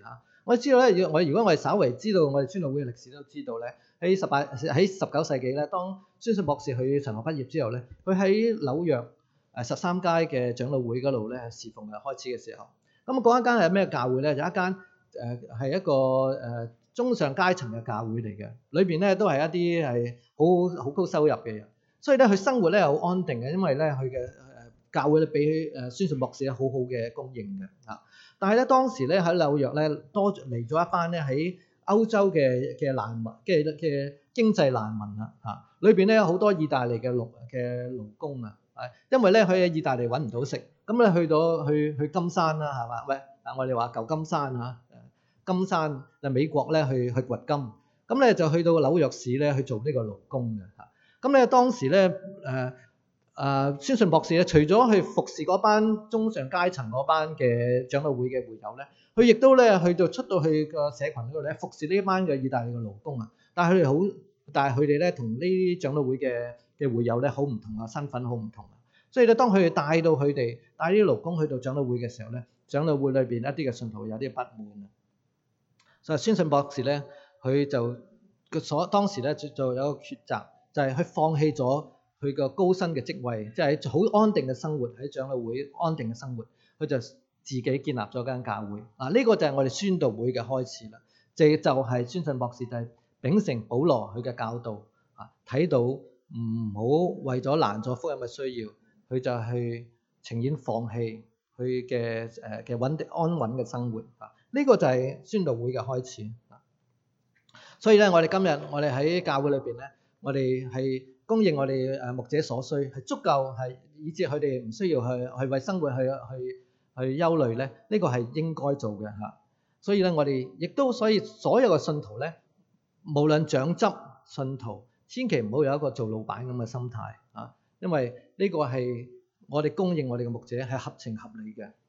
我哋知道咧，我如果我哋稍為知道我哋宣道會嘅歷史都知道咧，喺十八喺十九世紀咧，當宣信博士去神學畢業之後咧，佢喺紐約誒十三街嘅長老會嗰度咧侍奉嘅開始嘅時候，咁嗰一間係咩教會咧？就一間誒係一個誒中上階層嘅教會嚟嘅，裏邊咧都係一啲係好好高收入嘅人，所以咧佢生活咧好安定嘅，因為咧佢嘅誒教會咧俾誒宣信博士咧好好嘅供應嘅嚇。但係咧當時咧喺紐約咧多嚟咗一班咧喺歐洲嘅嘅難民嘅嘅經濟難民啊嚇，裏邊咧有好多意大利嘅勞嘅勞工啊，係因為咧佢喺意大利揾唔到食，咁咧去到去去金山啦係嘛？喂，啊我哋話舊金山嚇，金山就美國咧去去掘金，咁咧就去到紐約市咧去做呢個勞工嘅嚇，咁咧當時咧誒。誒宣信博士咧，除咗去服侍嗰班中上階層嗰班嘅長老會嘅會友咧，佢亦都咧去到出到去個社群嗰度咧，服侍呢班嘅意大利嘅勞工啊。但係佢哋好，但係佢哋咧同呢啲長老會嘅嘅會友咧好唔同啊，身份好唔同啊。所以咧，當佢哋帶到佢哋帶啲勞工去到長老會嘅時候咧，長老會裏邊一啲嘅信徒有啲不滿啊。所以宣信博士咧，佢就個所當時咧就就有個抉擇，就係佢放棄咗佢個高薪嘅職位，即係好安定嘅生活喺長老會安定嘅生活，佢就自己建立咗間教會。嗱，呢個就係我哋宣道會嘅開始啦。就就係宣信博士就係秉承保羅佢嘅教導啊，睇到唔好為咗攔阻福音嘅需要，佢就去情願放棄佢嘅誒嘅穩定安穩嘅生活啊。呢個就係宣道會嘅開始。所以咧，我哋今日我哋喺教會裏邊咧，我哋係供應我哋誒牧者所需，係足夠係以致佢哋唔需要去去為生活去去去憂慮咧。呢個係應該做嘅嚇。所以咧，我哋亦都所以所有嘅信徒咧，無論長執信徒，千祈唔好有一個做老闆咁嘅心態啊，因為呢個係我哋供應我哋嘅牧者係合情合理嘅。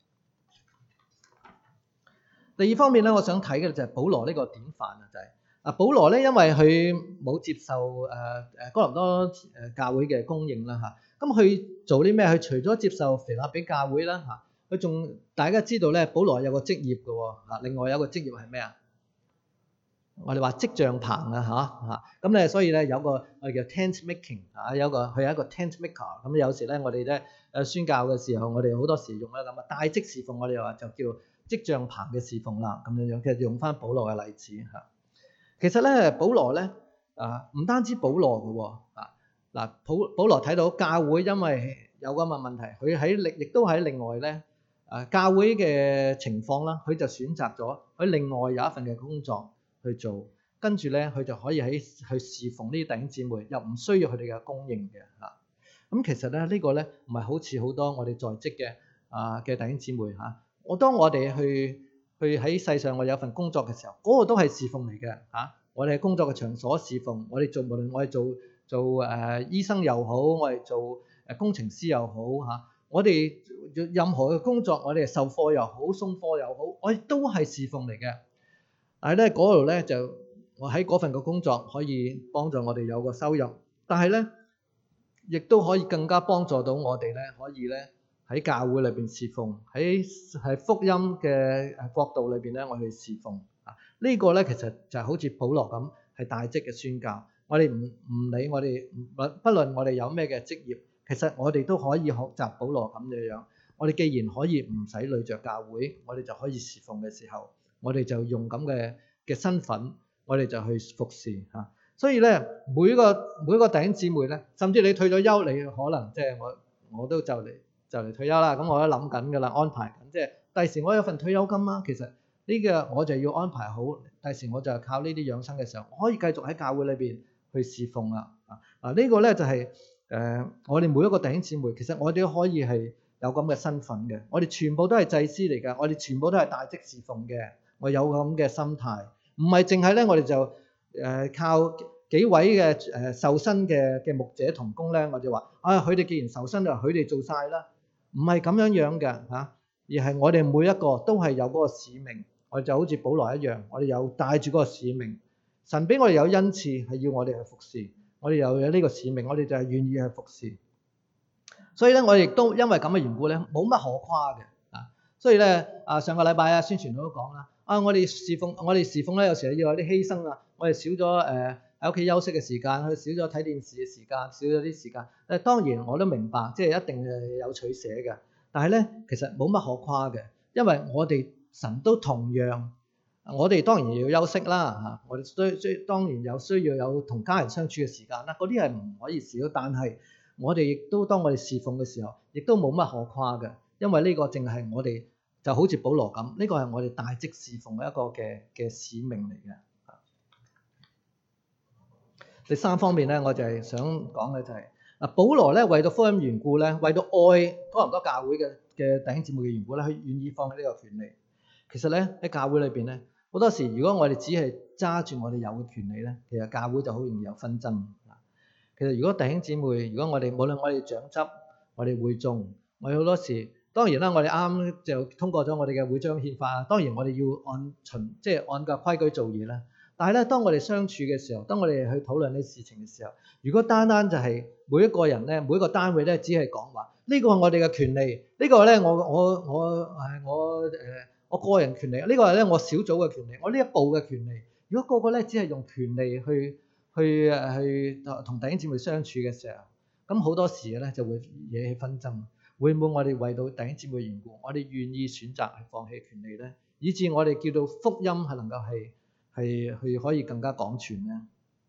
第二方面咧，我想睇嘅就係保羅呢個典範啊，就係、是。啊，保羅咧，因為佢冇接受誒誒哥林多誒教會嘅供應啦嚇，咁佢做啲咩？佢除咗接受腓立比教會啦嚇，佢仲大家知道咧，保羅有個職業嘅喎嚇，另外有個職業係咩啊？我哋話織帳棚啊嚇嚇，咁咧所以咧有個我哋叫 tent making 啊，有個佢係一個 tent maker，咁有時咧我哋咧誒宣教嘅時候，我哋好多時用咧咁啊帶職侍奉，我哋話就叫織帳棚嘅侍奉啦，咁樣樣其實用翻保羅嘅例子嚇。其實咧，保羅咧啊，唔單止保羅嘅喎啊，嗱，保保羅睇到教會因為有咁嘅問題，佢喺另亦都喺另外咧啊教會嘅情況啦，佢就選擇咗佢另外有一份嘅工作去做，跟住咧佢就可以喺去侍奉呢啲弟兄姊妹，又唔需要佢哋嘅供應嘅嚇。咁其實咧呢個咧唔係好似好多我哋在職嘅啊嘅弟兄姊妹嚇，我當我哋去。去喺世上我有份工作嘅時候，嗰、那個都係侍奉嚟嘅嚇。我哋喺工作嘅場所侍奉，我哋做無論我哋做做誒、呃、醫生又好，我哋做誒工程師又好嚇、啊，我哋任何嘅工作，我哋授課又好，送課又好，我哋都係侍奉嚟嘅。但係咧嗰度咧就我喺嗰份嘅工作可以幫助我哋有個收入，但係咧亦都可以更加幫助到我哋咧可以咧。喺教會裏邊侍奉，喺係福音嘅誒國度裏邊咧，我哋侍奉啊。這個、呢個咧其實就係好似保羅咁，係大職嘅宣教。我哋唔唔理我哋，不不論我哋有咩嘅職業，其實我哋都可以學習保羅咁嘅樣。我哋既然可以唔使累着教會，我哋就可以侍奉嘅時候，我哋就用咁嘅嘅身份，我哋就去服侍嚇。所以咧，每個每個弟兄姊妹咧，甚至你退咗休，你可能即係我我都就嚟。就嚟退休啦，咁我都諗緊㗎啦，安排緊，即係第時我有份退休金啦。其實呢個我就要安排好，第時我就靠呢啲養生嘅時候，我可以繼續喺教會裏邊去侍奉啦。啊啊，呢個咧就係誒我哋每一個弟兄姊妹，其實我哋都可以係有咁嘅身份嘅。我哋全部都係祭司嚟㗎，我哋全部都係大職侍奉嘅。我有咁嘅心態，唔係淨係咧，我哋就誒靠幾位嘅誒受薪嘅嘅牧者同工咧，我就話啊，佢哋既然受薪就佢哋做晒啦。唔係咁樣樣嘅嚇，而係我哋每一個都係有嗰個使命，我哋就好似保羅一樣，我哋有帶住嗰個使命。神俾我哋有恩賜，係要我哋去服侍，我哋又有呢個使命，我哋就係願意去服侍。所以咧，我哋亦都因為咁嘅緣故咧，冇乜可誇嘅啊。所以咧，啊上個禮拜啊宣傳都講啦， 啊，我哋侍奉我哋侍奉咧，有時要有啲犧牲啊，我哋少咗誒喺屋企休息嘅時間，佢少咗睇電視嘅時間，少咗啲時間。誒當然我都明白，即係一定係有取捨嘅。但係咧，其實冇乜可誇嘅，因為我哋神都同樣，我哋當然要休息啦嚇，我哋需需當然有需要有同家人相處嘅時間啦，嗰啲係唔可以少。但係我哋亦都當我哋侍奉嘅時候，亦都冇乜可誇嘅，因為呢個正係我哋就好似保羅咁，呢個係我哋大職侍奉嘅一個嘅嘅使命嚟嘅。第三方面咧，我就係想講嘅就係嗱，保羅咧為到福音緣故咧，為到愛多倫多教會嘅嘅弟兄姊妹嘅緣故咧，佢願意放棄呢個權利。其實咧喺教會裏邊咧，好多時如果我哋只係揸住我哋有嘅權利咧，其實教會就好容易有紛爭。其實如果弟兄姊妹，如果我哋無論我哋長執、我哋會眾，我哋好多時，當然啦，我哋啱就通過咗我哋嘅會章憲法，當然我哋要按循即係按個規矩做嘢啦。但係咧，當我哋相處嘅時候，當我哋去討論呢啲事情嘅時候，如果單單就係每一個人咧，每一個單位咧，只係講話呢個係我哋嘅權利，呢個咧我我我係我誒我個人權利，呢個係咧我小組嘅權利，我呢一步嘅權利。如果個個咧只係用權利去去誒去同弟兄姊妹相處嘅時候，咁好多時咧就會惹起紛爭。會唔會我哋為到弟兄姊妹嘅緣故，我哋願意選擇去放棄權利咧，以致我哋叫到福音係能夠係係去可以更加廣傳咧？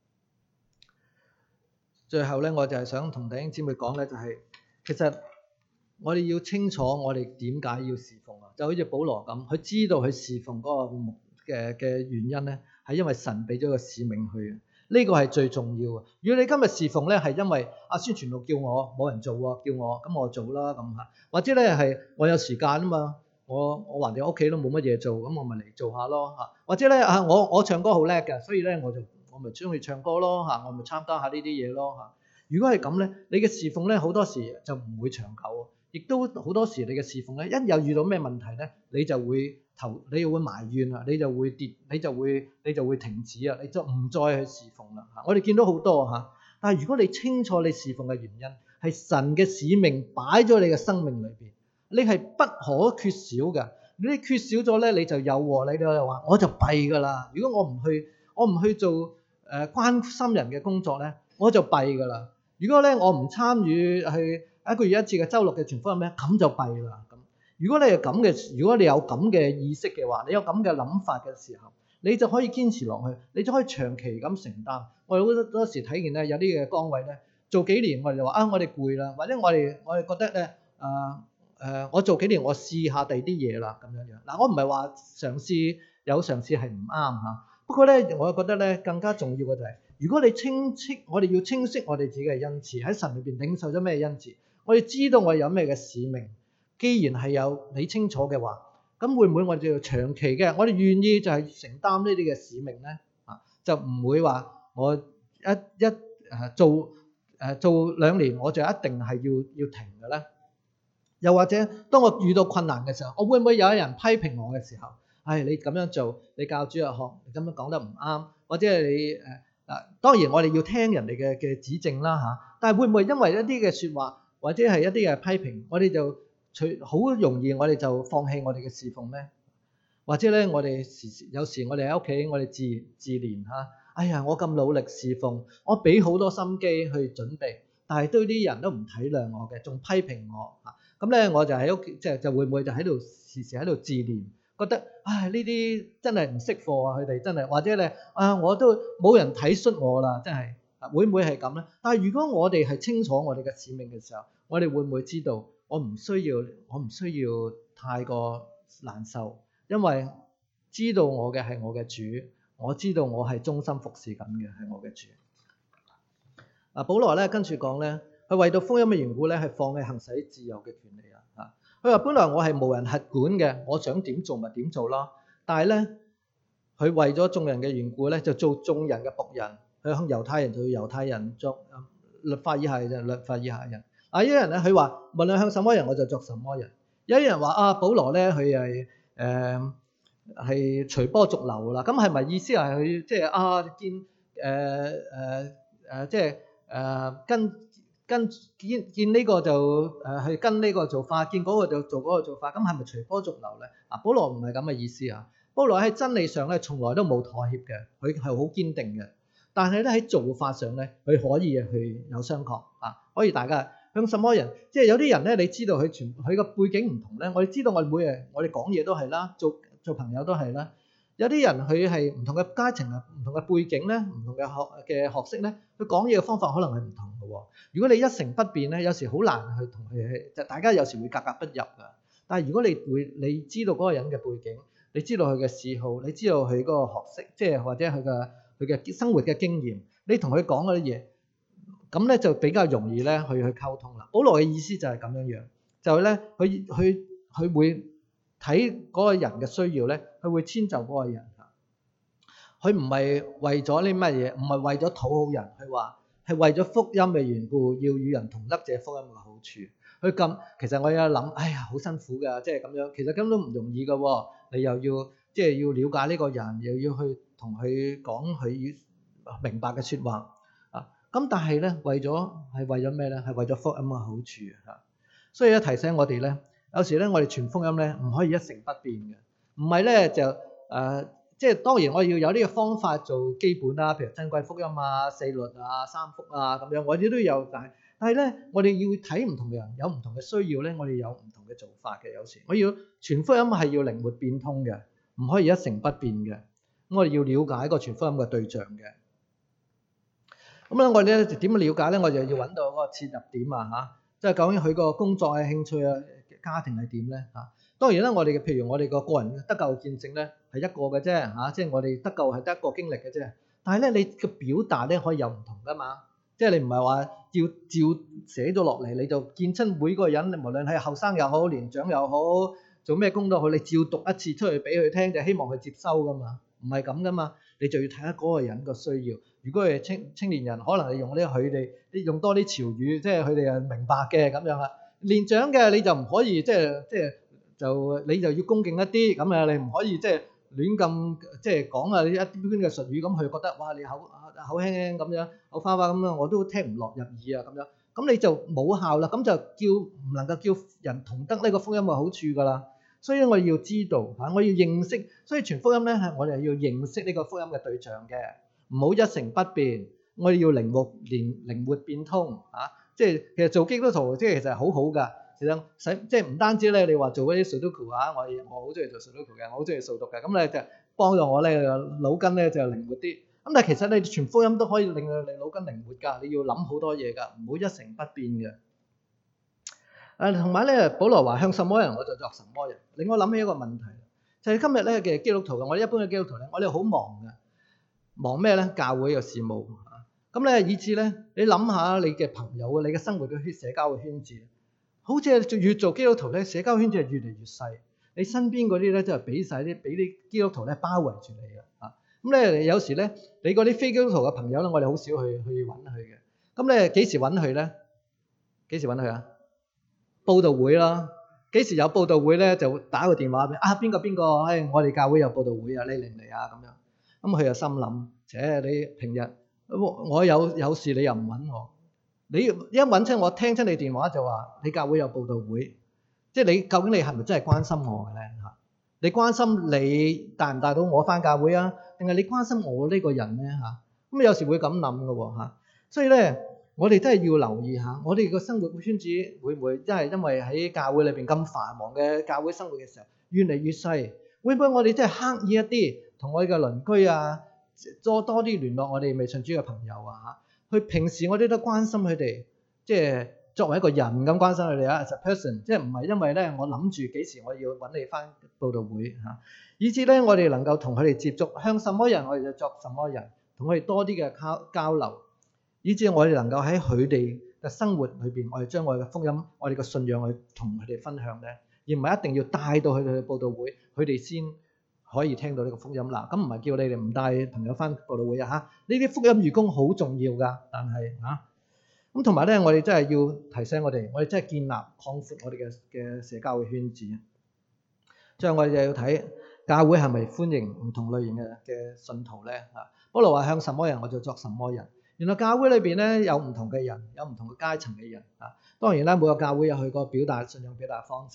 最後咧，我就係想同弟兄姊妹講咧，就係其實我哋要清楚我哋點解要侍奉啊，就好似保羅咁，佢知道佢侍奉嗰個目嘅嘅原因咧，係因為神俾咗個使命去。呢個係最重要嘅。如果你今日侍奉咧，係因為阿宣傳道叫我冇人做喎，叫我咁我做啦咁嚇，或者咧係我有時間啊嘛，我我橫掂屋企都冇乜嘢做，咁我咪嚟做下咯嚇。或者咧啊，我我唱歌好叻嘅，所以咧我就我咪中意唱歌咯嚇，我咪參加下呢啲嘢咯嚇。如果係咁咧，你嘅侍奉咧好多時就唔會長久，亦都好多時你嘅侍奉咧一有遇到咩問題咧，你就會頭你會埋怨啊，你就會跌，你就會你就會停止啊，你就唔再去侍奉啦嚇。我哋見到好多嚇，但係如果你清楚你侍奉嘅原因係神嘅使命擺咗你嘅生命裏邊，你係不可缺少嘅。你缺少咗咧，你就有禍，你就話我就弊噶啦。如果我唔去，我唔去做誒、呃、關心人嘅工作咧，我就弊噶啦。如果咧我唔參與去一個月一次嘅週六嘅傳福音咧，咁就弊啦。咁如果你係咁嘅，如果你有咁嘅意識嘅話，你有咁嘅諗法嘅時候，你就可以堅持落去，你就可以長期咁承擔。我哋好多時睇見咧，有啲嘅崗位咧，做幾年我哋就話啊，我哋攰啦，或者我哋我哋覺得咧啊誒，我做幾年我試下第二啲嘢啦咁樣樣。嗱，我唔係話嘗試有嘗試係唔啱嚇，不過咧，我覺得咧更加重要嘅就係，如果你清晰，我哋要清晰我哋自己嘅恩賜喺神裏邊領受咗咩恩賜，我哋知道我哋有咩嘅使命。既然係有你清楚嘅話，咁會唔會我哋就長期嘅，我哋願意就係承擔呢啲嘅使命咧？啊，就唔會話我一一誒做誒做兩年我就一定係要要停嘅咧。又或者當我遇到困難嘅時候，我會唔會有一人批評我嘅時候，唉，你咁樣做，你教主日學，你咁樣講得唔啱，或者係你誒啊，當然我哋要聽人哋嘅嘅指正啦嚇，但係會唔會因為一啲嘅説話或者係一啲嘅批評，我哋就隨好容易我哋就放棄我哋嘅侍奉咧？或者咧，我哋時時有時我哋喺屋企，我哋自自憐嚇，哎呀，我咁努力侍奉，我俾好多心機去準備，但係對啲人都唔體諒我嘅，仲批評我嚇。咁咧我就喺屋企，即係就會唔會就喺度時時喺度自憐，覺得唉呢啲真係唔識貨啊！佢哋真係，或者咧啊我都冇人體恤我啦，真係會唔會係咁咧？但係如果我哋係清楚我哋嘅使命嘅時候，我哋會唔會知道我唔需要我唔需要太過難受，因為知道我嘅係我嘅主，我知道我係忠心服侍緊嘅係我嘅主。嗱，保羅咧跟住講咧。佢為到福音嘅緣故咧，係放棄行使自由嘅權利啊！嚇，佢話本來我係無人轄管嘅，我想點做咪點做咯。但係咧，佢為咗眾人嘅緣故咧，就做眾人嘅僕人。佢向猶太人做猶太人，作律法以下嘅人，律法以下嘅人。啊，有啲人咧，佢話無論向什麼人，我就作什麼人。有啲人話啊，保羅咧，佢係誒係隨波逐流啦。咁係咪意思係佢即係啊見誒誒誒即係誒跟？跟見見呢個就誒去跟呢個做法，見嗰個就做嗰個做法，咁係咪隨波逐流咧？啊，保羅唔係咁嘅意思啊。保保羅喺真理上咧，從來都冇妥協嘅，佢係好堅定嘅。但係咧喺做法上咧，佢可以去有商榷啊，可以大家向什麼人，即係有啲人咧，你知道佢全佢個背景唔同咧，我哋知道我哋每日我哋講嘢都係啦，做做朋友都係啦。有啲人佢係唔同嘅階層啊，唔同嘅背景咧，唔同嘅學嘅學識咧，佢講嘢嘅方法可能係唔同嘅喎。如果你一成不變咧，有時好難去同佢去，就大家有時會格格不入㗎。但係如果你會你知道嗰個人嘅背景，你知道佢嘅嗜好，你知道佢嗰個學識，即係或者佢嘅佢嘅生活嘅經驗，你同佢講嗰啲嘢，咁咧就比較容易咧去去溝通啦。保羅嘅意思就係咁樣樣，就係咧佢佢佢會睇嗰個人嘅需要咧，佢會遷就嗰個人。佢唔係為咗啲乜嘢，唔係為咗討好人，佢話係為咗福音嘅緣故，要與人同得這福音嘅好處。佢咁其實我有諗，哎呀好辛苦㗎，即係咁樣，其實根本都唔容易㗎喎。你又要即係要了解呢個人，又要去同佢講佢明白嘅説話啊。咁但係咧，為咗係為咗咩咧？係為咗福音嘅好處啊。所以咧提醒我哋咧，有時咧我哋傳福音咧唔可以一成不變嘅，唔係咧就誒。呃即係當然我要有呢個方法做基本啦，譬如珍貴福音啊、四律啊、三福啊咁樣，我哋都有。但係但係咧，我哋要睇唔同嘅人有唔同嘅需要咧，我哋有唔同嘅做法嘅。有時我要傳福音係要靈活變通嘅，唔可以一成不變嘅。咁我哋要了解個傳福音嘅對象嘅。咁咧我哋咧點樣了解咧？我哋就要揾到嗰個切入點啊嚇，即係究竟佢個工作嘅興趣啊、家庭係點咧嚇？當然啦，我哋嘅譬如我哋個個人得救嘅見證咧係一個嘅啫嚇，即係我哋得救係得一個經歷嘅啫。但係咧，你嘅表達咧可以有唔同噶嘛，即係你唔係話照照寫咗落嚟，你就見親每個人，無論係後生又好、年長又好，做咩工都好，你照讀一次出去俾佢聽，就希望佢接收噶嘛，唔係咁噶嘛。你就要睇下嗰個人個需要。如果係青青年人，可能你用啲佢哋，你用多啲潮語，即係佢哋係明白嘅咁樣啦。年長嘅你就唔可以即係即係。就你就要恭敬一啲咁啊！你唔可以即係亂咁即係講啊！一般嘅術語咁，佢覺得哇你口口輕輕咁樣，口花花咁樣，我都聽唔落入耳啊咁樣。咁你就冇效啦，咁就叫唔能夠叫人同得呢個福音嘅好處噶啦。所以我哋要知道嚇，我要認識，所以傳福音咧係我哋係要認識呢個福音嘅對象嘅，唔好一成不變。我哋要靈活連靈活變通嚇，即係其實做基督徒即係其實係好好噶。其實使即係唔單止咧，你話做嗰啲 Sudoku 啊，我我好中意做 Sudoku 嘅，我好中意掃讀嘅，咁咧就幫助我咧腦筋咧就靈活啲。咁但係其實你傳福音都可以令到你腦筋靈活㗎，你要諗好多嘢㗎，唔好一成不變嘅。誒同埋咧，保羅話向什麼人我就作什麼人，令我諗起一個問題，就係今日咧嘅基督徒嘅，我哋一般嘅基督徒咧，我哋好忙嘅，忙咩咧？教會嘅事務啊，咁咧以至咧，你諗下你嘅朋友啊，你嘅生活嘅社交嘅圈子。好似係越做基督徒咧，社交圈子係越嚟越細。你身邊嗰啲咧，就係俾晒啲俾啲基督徒咧包圍住你嘅啊。咁咧有時咧，你嗰啲非基督徒嘅朋友咧，我哋好少去去揾佢嘅。咁咧幾時揾佢咧？幾時揾佢啊？佈道會啦。幾時有佈道會咧？就打個電話俾啊邊個邊個？誒，我哋教會有佈道會啊，你嚟唔嚟啊？咁樣。咁佢又心諗，且你平日我有有事你又唔揾我。你一揾親我聽親你電話就話你教會有佈道會，即係你究竟你係咪真係關心我嘅咧嚇？你關心你帶唔帶到我返教會啊？定係你關心我呢個人咧嚇？咁有時會咁諗嘅喎嚇。所以咧，我哋真係要留意下，我哋個生活圈子會唔會真係因為喺教會裏邊咁繁忙嘅教會生活嘅時候越嚟越細？會唔會我哋真係刻意一啲同我哋嘅鄰居啊，多多啲聯絡我哋未信主嘅朋友啊嚇？佢平時我哋都關心佢哋，即係作為一個人咁關心佢哋啊，as a person，即係唔係因為咧我諗住幾時我要揾你返佈道會嚇，以至咧我哋能夠同佢哋接觸，向什麼人我哋就作什麼人，同佢哋多啲嘅交交流，以至我哋能夠喺佢哋嘅生活裏邊，我哋將我哋嘅福音、我哋嘅信仰去同佢哋分享咧，而唔係一定要帶到佢哋去佈道會，佢哋先可以聽到呢個福音啦。咁唔係叫你哋唔帶朋友返佈道會啊嚇，呢啲福音義工好重要㗎，但係嚇咁同埋咧，我哋真係要提醒我哋，我哋真係建立擴闊我哋嘅嘅社交嘅圈子。最後我哋就要睇教會係咪歡迎唔同類型嘅嘅信徒咧嚇。保羅話向什麼人我就作什麼人。原來教會裏邊咧有唔同嘅人，有唔同嘅階層嘅人啊。當然啦，每個教會有佢個表達信仰表達方式。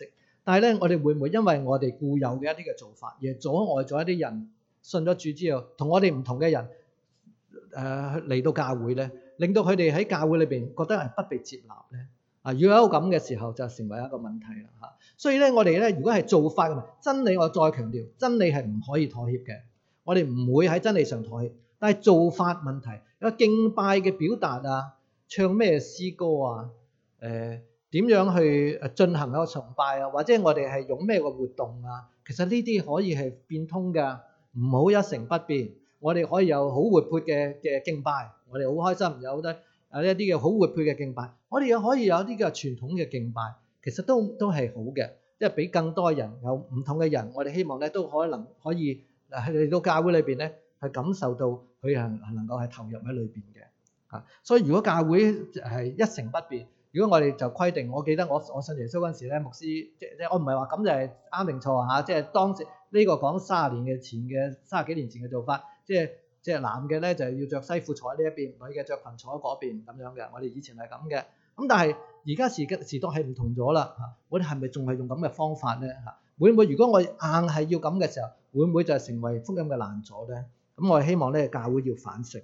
但係咧，我哋會唔會因為我哋固有嘅一啲嘅做法，而阻礙咗一啲人信咗主之後，同我哋唔同嘅人誒嚟到教會咧，令到佢哋喺教會裏邊覺得係不被接納咧？啊，如果有咁嘅時候，就成為一個問題啦嚇。所以咧，我哋咧，如果係做法嘅問題，真理我再強調，真理係唔可以妥協嘅。我哋唔會喺真理上妥協，但係做法問題，有敬拜嘅表達啊，唱咩詩歌啊，誒、呃、點樣去誒進行一個崇拜啊，或者我哋係用咩個活動啊，其實呢啲可以係變通㗎，唔好一成不變。我哋可以有好活潑嘅嘅敬拜，我哋好開心，有得有一啲嘅好活潑嘅敬拜。我哋又可以有啲嘅傳統嘅敬拜，其實都都係好嘅，即係俾更多人有唔同嘅人，我哋希望咧都可能可以嗱嚟到教會裏邊咧，係感受到佢係能夠係投入喺裏邊嘅嚇。所以如果教會係一成不變，如果我哋就規定，我記得我我信耶穌嗰陣時咧，牧師即即我唔係話咁就係啱定錯嚇，即係當時呢個講三十年嘅前嘅三十幾年前嘅做法，即係即係男嘅咧就係要着西褲坐喺呢一邊，女嘅着裙坐喺嗰邊咁樣嘅。我哋以前係咁嘅。咁但係而家時嘅時代係唔同咗啦嚇，我哋係咪仲係用咁嘅方法咧嚇？會唔會如果我硬係要咁嘅時候，會唔會就係成為福音嘅難阻咧？咁我哋希望咧教會要反省。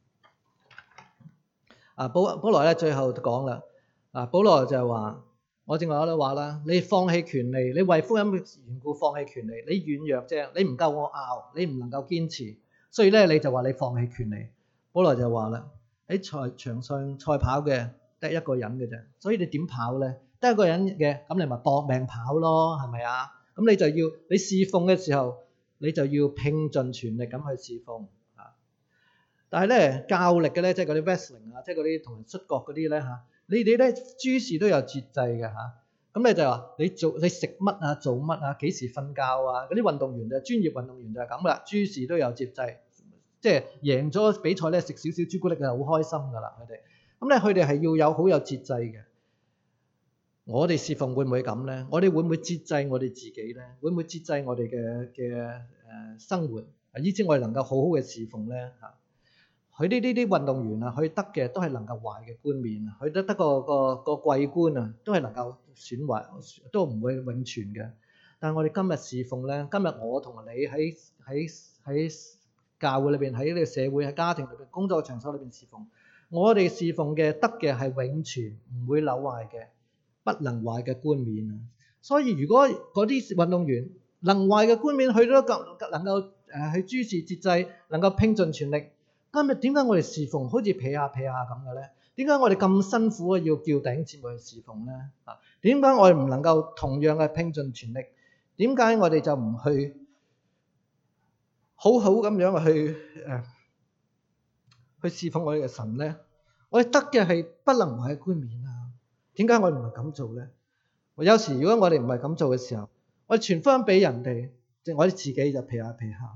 啊，保保羅咧最後講啦，啊保羅就係話，我正話我都話啦，你放棄權利，你為福音嘅緣故放棄權利，你軟弱啫，你唔夠我拗，你唔能夠堅持，所以咧你就話你放棄權利。保羅就話啦，喺賽場上賽跑嘅得一個人嘅啫，所以你點跑咧？得一個人嘅，咁你咪搏命跑咯，係咪啊？咁你就要你侍奉嘅時候，你就要拼盡全力咁去侍奉啊！但係咧較力嘅咧，即係嗰啲 wrestling 啊，即係嗰啲同人摔角嗰啲咧嚇，你哋咧諸事都有節制嘅嚇。咁你就話你做你食乜啊，做乜啊，幾時瞓覺啊？嗰啲運動員就專業運動員就係咁啦，諸事都有節制，即係贏咗比賽咧食少少朱古力就好開心㗎啦，佢哋。咁咧佢哋係要有好有節制嘅。我哋侍奉會唔會咁咧？我哋會唔會節制我哋自己咧？會唔會節制我哋嘅嘅誒生活？啊，以至我哋能夠好好嘅侍奉咧嚇。佢呢呢啲運動員啊，佢得嘅都係能夠壞嘅冠冕啊，佢得得個個個桂冠啊，都係能夠損壞，都唔會永存嘅。但係我哋今日侍奉咧，今日我同你喺喺喺教會裏邊，喺呢個社會喺家庭裏邊工作場所裏邊侍奉，我哋侍奉嘅得嘅係永存，唔會朽壞嘅。不能壞嘅冠冕啊！所以如果嗰啲運動員能壞嘅冠冕，佢都夠能夠誒去諸事節制，能夠拼盡全力。今日點解我哋侍奉好似撇下撇下咁嘅咧？點解我哋咁辛苦啊？要叫弟兄姊妹去侍奉咧？啊，點解我哋唔能夠同樣嘅拼盡全力？點解我哋就唔去好好咁樣去誒、呃、去侍奉我哋嘅神咧？我哋得嘅係不能壞嘅冠冕啊！點解我哋唔係咁做咧？我有時如果我哋唔係咁做嘅時候，我哋傳福音俾人哋，即係我哋自己就撇下撇下，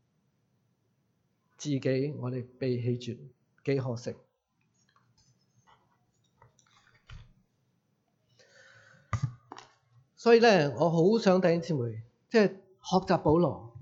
自己我哋被棄絕，幾可惜。所以咧，我好想弟兄姊妹，即係學習保羅。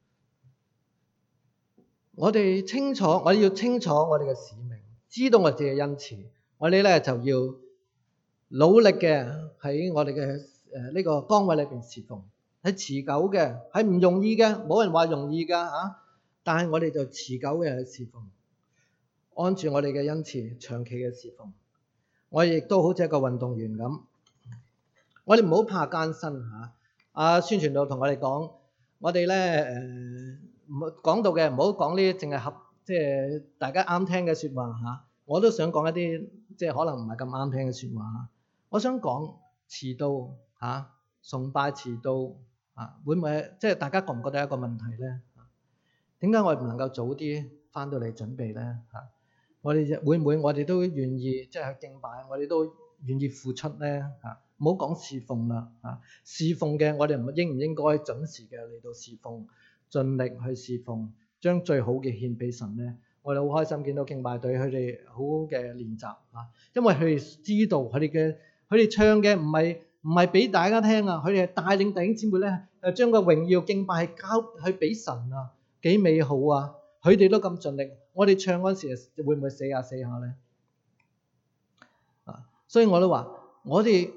我哋清楚，我哋要清楚我哋嘅使命，知道我哋嘅恩賜，我哋咧就要努力嘅喺我哋嘅誒呢個崗位裏邊侍奉，係持久嘅，係唔容易嘅，冇人話容易㗎嚇。但係我哋就持久嘅去侍奉，按住我哋嘅恩賜，長期嘅侍奉。我哋亦都好似一個運動員咁，我哋唔好怕艱辛嚇。阿宣傳道同我哋講，我哋咧誒唔好講到嘅，唔好講呢啲淨係合即係大家啱聽嘅説話嚇。我都想講一啲即係可能唔係咁啱聽嘅説話嚇。我想講遲到嚇、啊，崇拜遲到啊，會唔會即係大家覺唔覺得一個問題咧？點解我哋唔能夠早啲翻到嚟準備咧？嚇、啊，我哋會唔會我哋都願意即係去敬拜，我哋都願意付出咧？嚇，唔好講侍奉啦嚇，侍奉嘅我哋唔應唔應該準時嘅嚟到侍奉，盡力去侍奉，將最好嘅獻俾神咧？我哋好開心見到敬拜隊佢哋好嘅練習啊，因為佢哋知道佢哋嘅。佢哋唱嘅唔係唔係俾大家聽啊，佢哋係帶領弟兄姊妹咧，誒將個榮耀敬拜係交去俾神啊，幾美好啊！佢哋都咁盡力，我哋唱嗰陣時會唔會死下死下咧？啊，所以我都話，我哋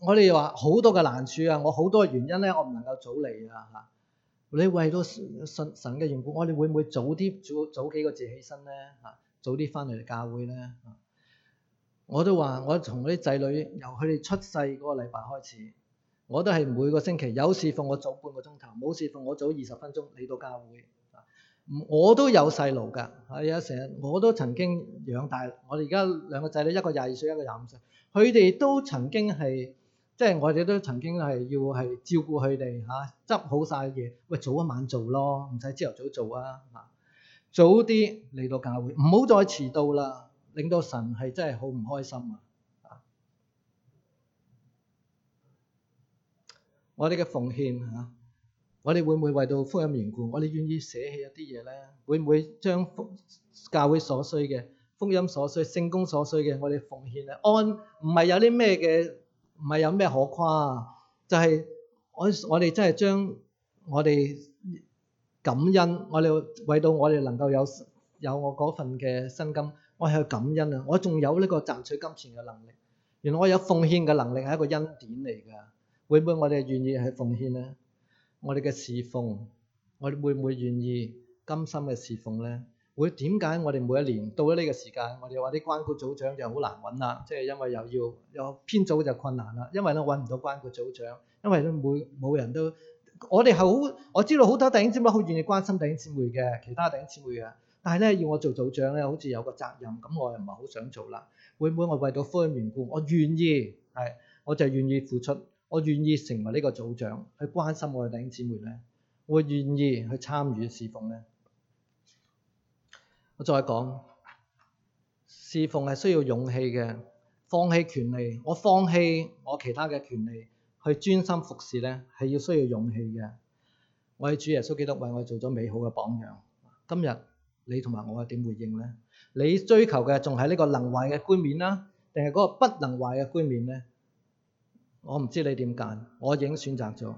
我哋話好多嘅難處啊，我好多原因咧，我唔能夠早嚟啊嚇。你為到神神嘅緣故，我哋會唔會早啲早早幾個字起身咧嚇？早啲翻嚟教會咧嚇？我都話我從啲仔女由佢哋出世嗰個禮拜開始，我都係每個星期有侍奉我早半個鐘頭，冇侍奉我早二十分鐘嚟到教會。我都有細路㗎，係啊，成日我都曾經養大我哋而家兩個仔女，一個廿二歲，一個廿五歲，佢哋都曾經係即係我哋都曾經係要係照顧佢哋嚇，執好晒嘢，喂早一晚做咯，唔使朝頭早做啊嚇，早啲嚟到教會，唔好再遲到啦，令到神係真係好唔開心啊！我哋嘅奉獻嚇。我哋會唔會為到福音緣故，我哋願意捨棄一啲嘢咧？會唔會將教會所需嘅、福音所需、聖工所需嘅，我哋奉獻咧？按唔係有啲咩嘅，唔係有咩可誇，就係、是、我我哋真係將我哋感恩，我哋為到我哋能夠有有我嗰份嘅薪金，我係去感恩啊！我仲有呢個賺取金錢嘅能力，原來我有奉獻嘅能力係一個恩典嚟㗎。會唔會我哋願意去奉獻咧？我哋嘅侍奉，我哋會唔會願意甘心嘅侍奉咧？會點解我哋每一年到咗呢個時間，我哋話啲關顧組長就好難揾啦，即係因為又要有編組就困難啦，因為咧揾唔到關顧組長，因為咧每冇人都，我哋係好，我知道好多弟兄姊妹好願意關心弟兄姊妹嘅，其他弟兄姊妹嘅，但係咧要我做組長咧，好似有個責任，咁我又唔係好想做啦。會唔會我為到福音緣故，我願意係，我就願意付出。我願意成為呢個組長，去關心我嘅弟兄姊妹咧。我願意去參與侍奉咧。我再講，侍奉係需要勇氣嘅，放棄權利，我放棄我其他嘅權利，去專心服侍咧，係要需要勇氣嘅。我喺主耶穌基督為我做咗美好嘅榜樣。今日你同埋我係點回應咧？你追求嘅仲係呢個能壞嘅冠冕啦，定係嗰個不能壞嘅冠冕咧？我唔知你點揀，我已經選擇咗。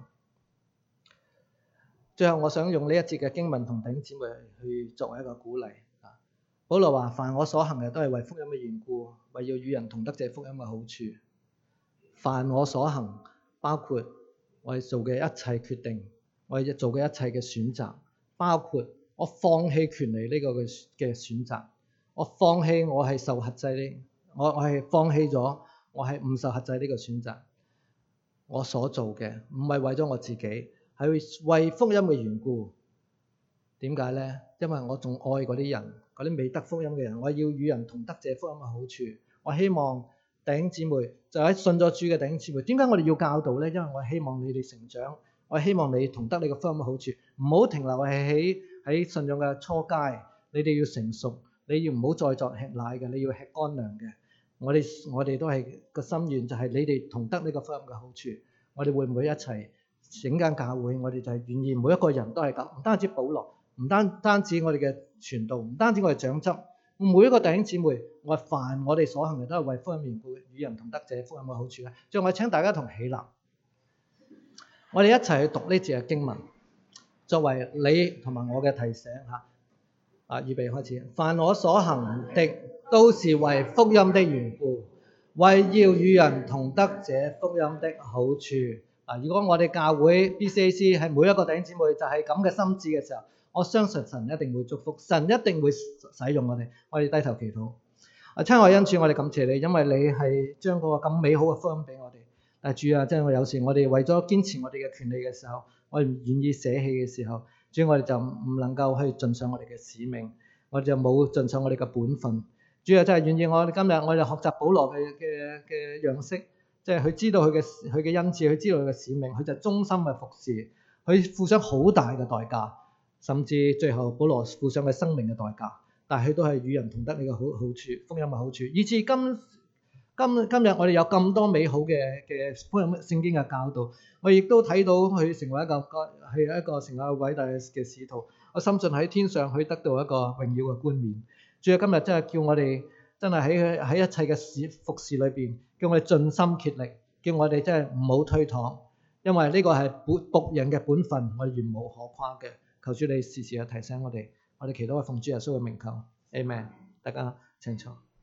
最後我想用呢一節嘅經文同弟兄姊妹去作為一個鼓勵。保羅話：凡我所行嘅都係為福音嘅緣故，為要與人同得這福音嘅好處。凡我所行，包括我哋做嘅一切決定，我哋做嘅一切嘅選擇，包括我放棄權利呢個嘅嘅選擇，我放棄我係受轄制呢，我我係放棄咗我係唔受轄制呢個選擇。我所做嘅唔係為咗我自己，係為福音嘅緣故。點解咧？因為我仲愛嗰啲人，嗰啲未得福音嘅人，我要與人同得這福音嘅好處。我希望弟兄姊妹就喺信咗主嘅弟兄姊妹，點解我哋要教導咧？因為我希望你哋成長，我希望你同得你個福音嘅好處，唔好停留係喺喺信仰嘅初階。你哋要成熟，你要唔好再作吃奶嘅，你要吃乾糧嘅。我哋我哋都係個心願，就係你哋同得呢個福音嘅好處。我哋會唔會一齊整間教會？我哋就係願意每一個人都係咁，唔單止保羅，唔單單止我哋嘅傳道，唔單止我哋長執，每一個弟兄姊妹，我凡我哋所行嘅都係為福音緣故，與人同得這福音嘅好處咧。最後我請大家同起立，我哋一齊去讀呢節嘅經文，作為你同埋我嘅提醒嚇。啊，預備開始。凡我所行的，都是為福音的緣故，為要與人同得這福音的好處。啊，如果我哋教會 B C A C 係每一個弟兄姊妹就係咁嘅心志嘅時候，我相信神一定會祝福，神一定會使用我哋。我哋低頭祈禱。啊，親愛恩主，我哋感謝你，因為你係將嗰個咁美好嘅福音俾我哋。但係主啊，即係我有時我哋為咗堅持我哋嘅權利嘅時候，我哋唔願意捨棄嘅時候，主，我哋就唔能夠去盡上我哋嘅使命，我哋就冇盡上我哋嘅本分。主啊，真係願意我哋今日我哋學習保羅嘅嘅嘅樣式，即係佢知道佢嘅佢嘅恩賜，佢知道佢嘅使命，佢就忠心嘅服侍，佢付上好大嘅代價，甚至最後保羅付上嘅生命嘅代價，但係佢都係與人同得呢個好好處，福音嘅好處，以至今今今日我哋有咁多美好嘅嘅福音聖經嘅教導，我亦都睇到佢成為一個係一個成為一個偉大嘅使徒，我深信喺天上佢得到一個榮耀嘅冠冕。主啊，今日真係叫我哋真係喺喺一切嘅事服侍裏邊，叫我哋盡心竭力，叫我哋真係唔好推搪，因為呢個係僕人嘅本分，我哋原無可誇嘅。求主你時時去提醒我哋，我哋祈禱係奉主耶穌嘅名求，阿們。大家請坐。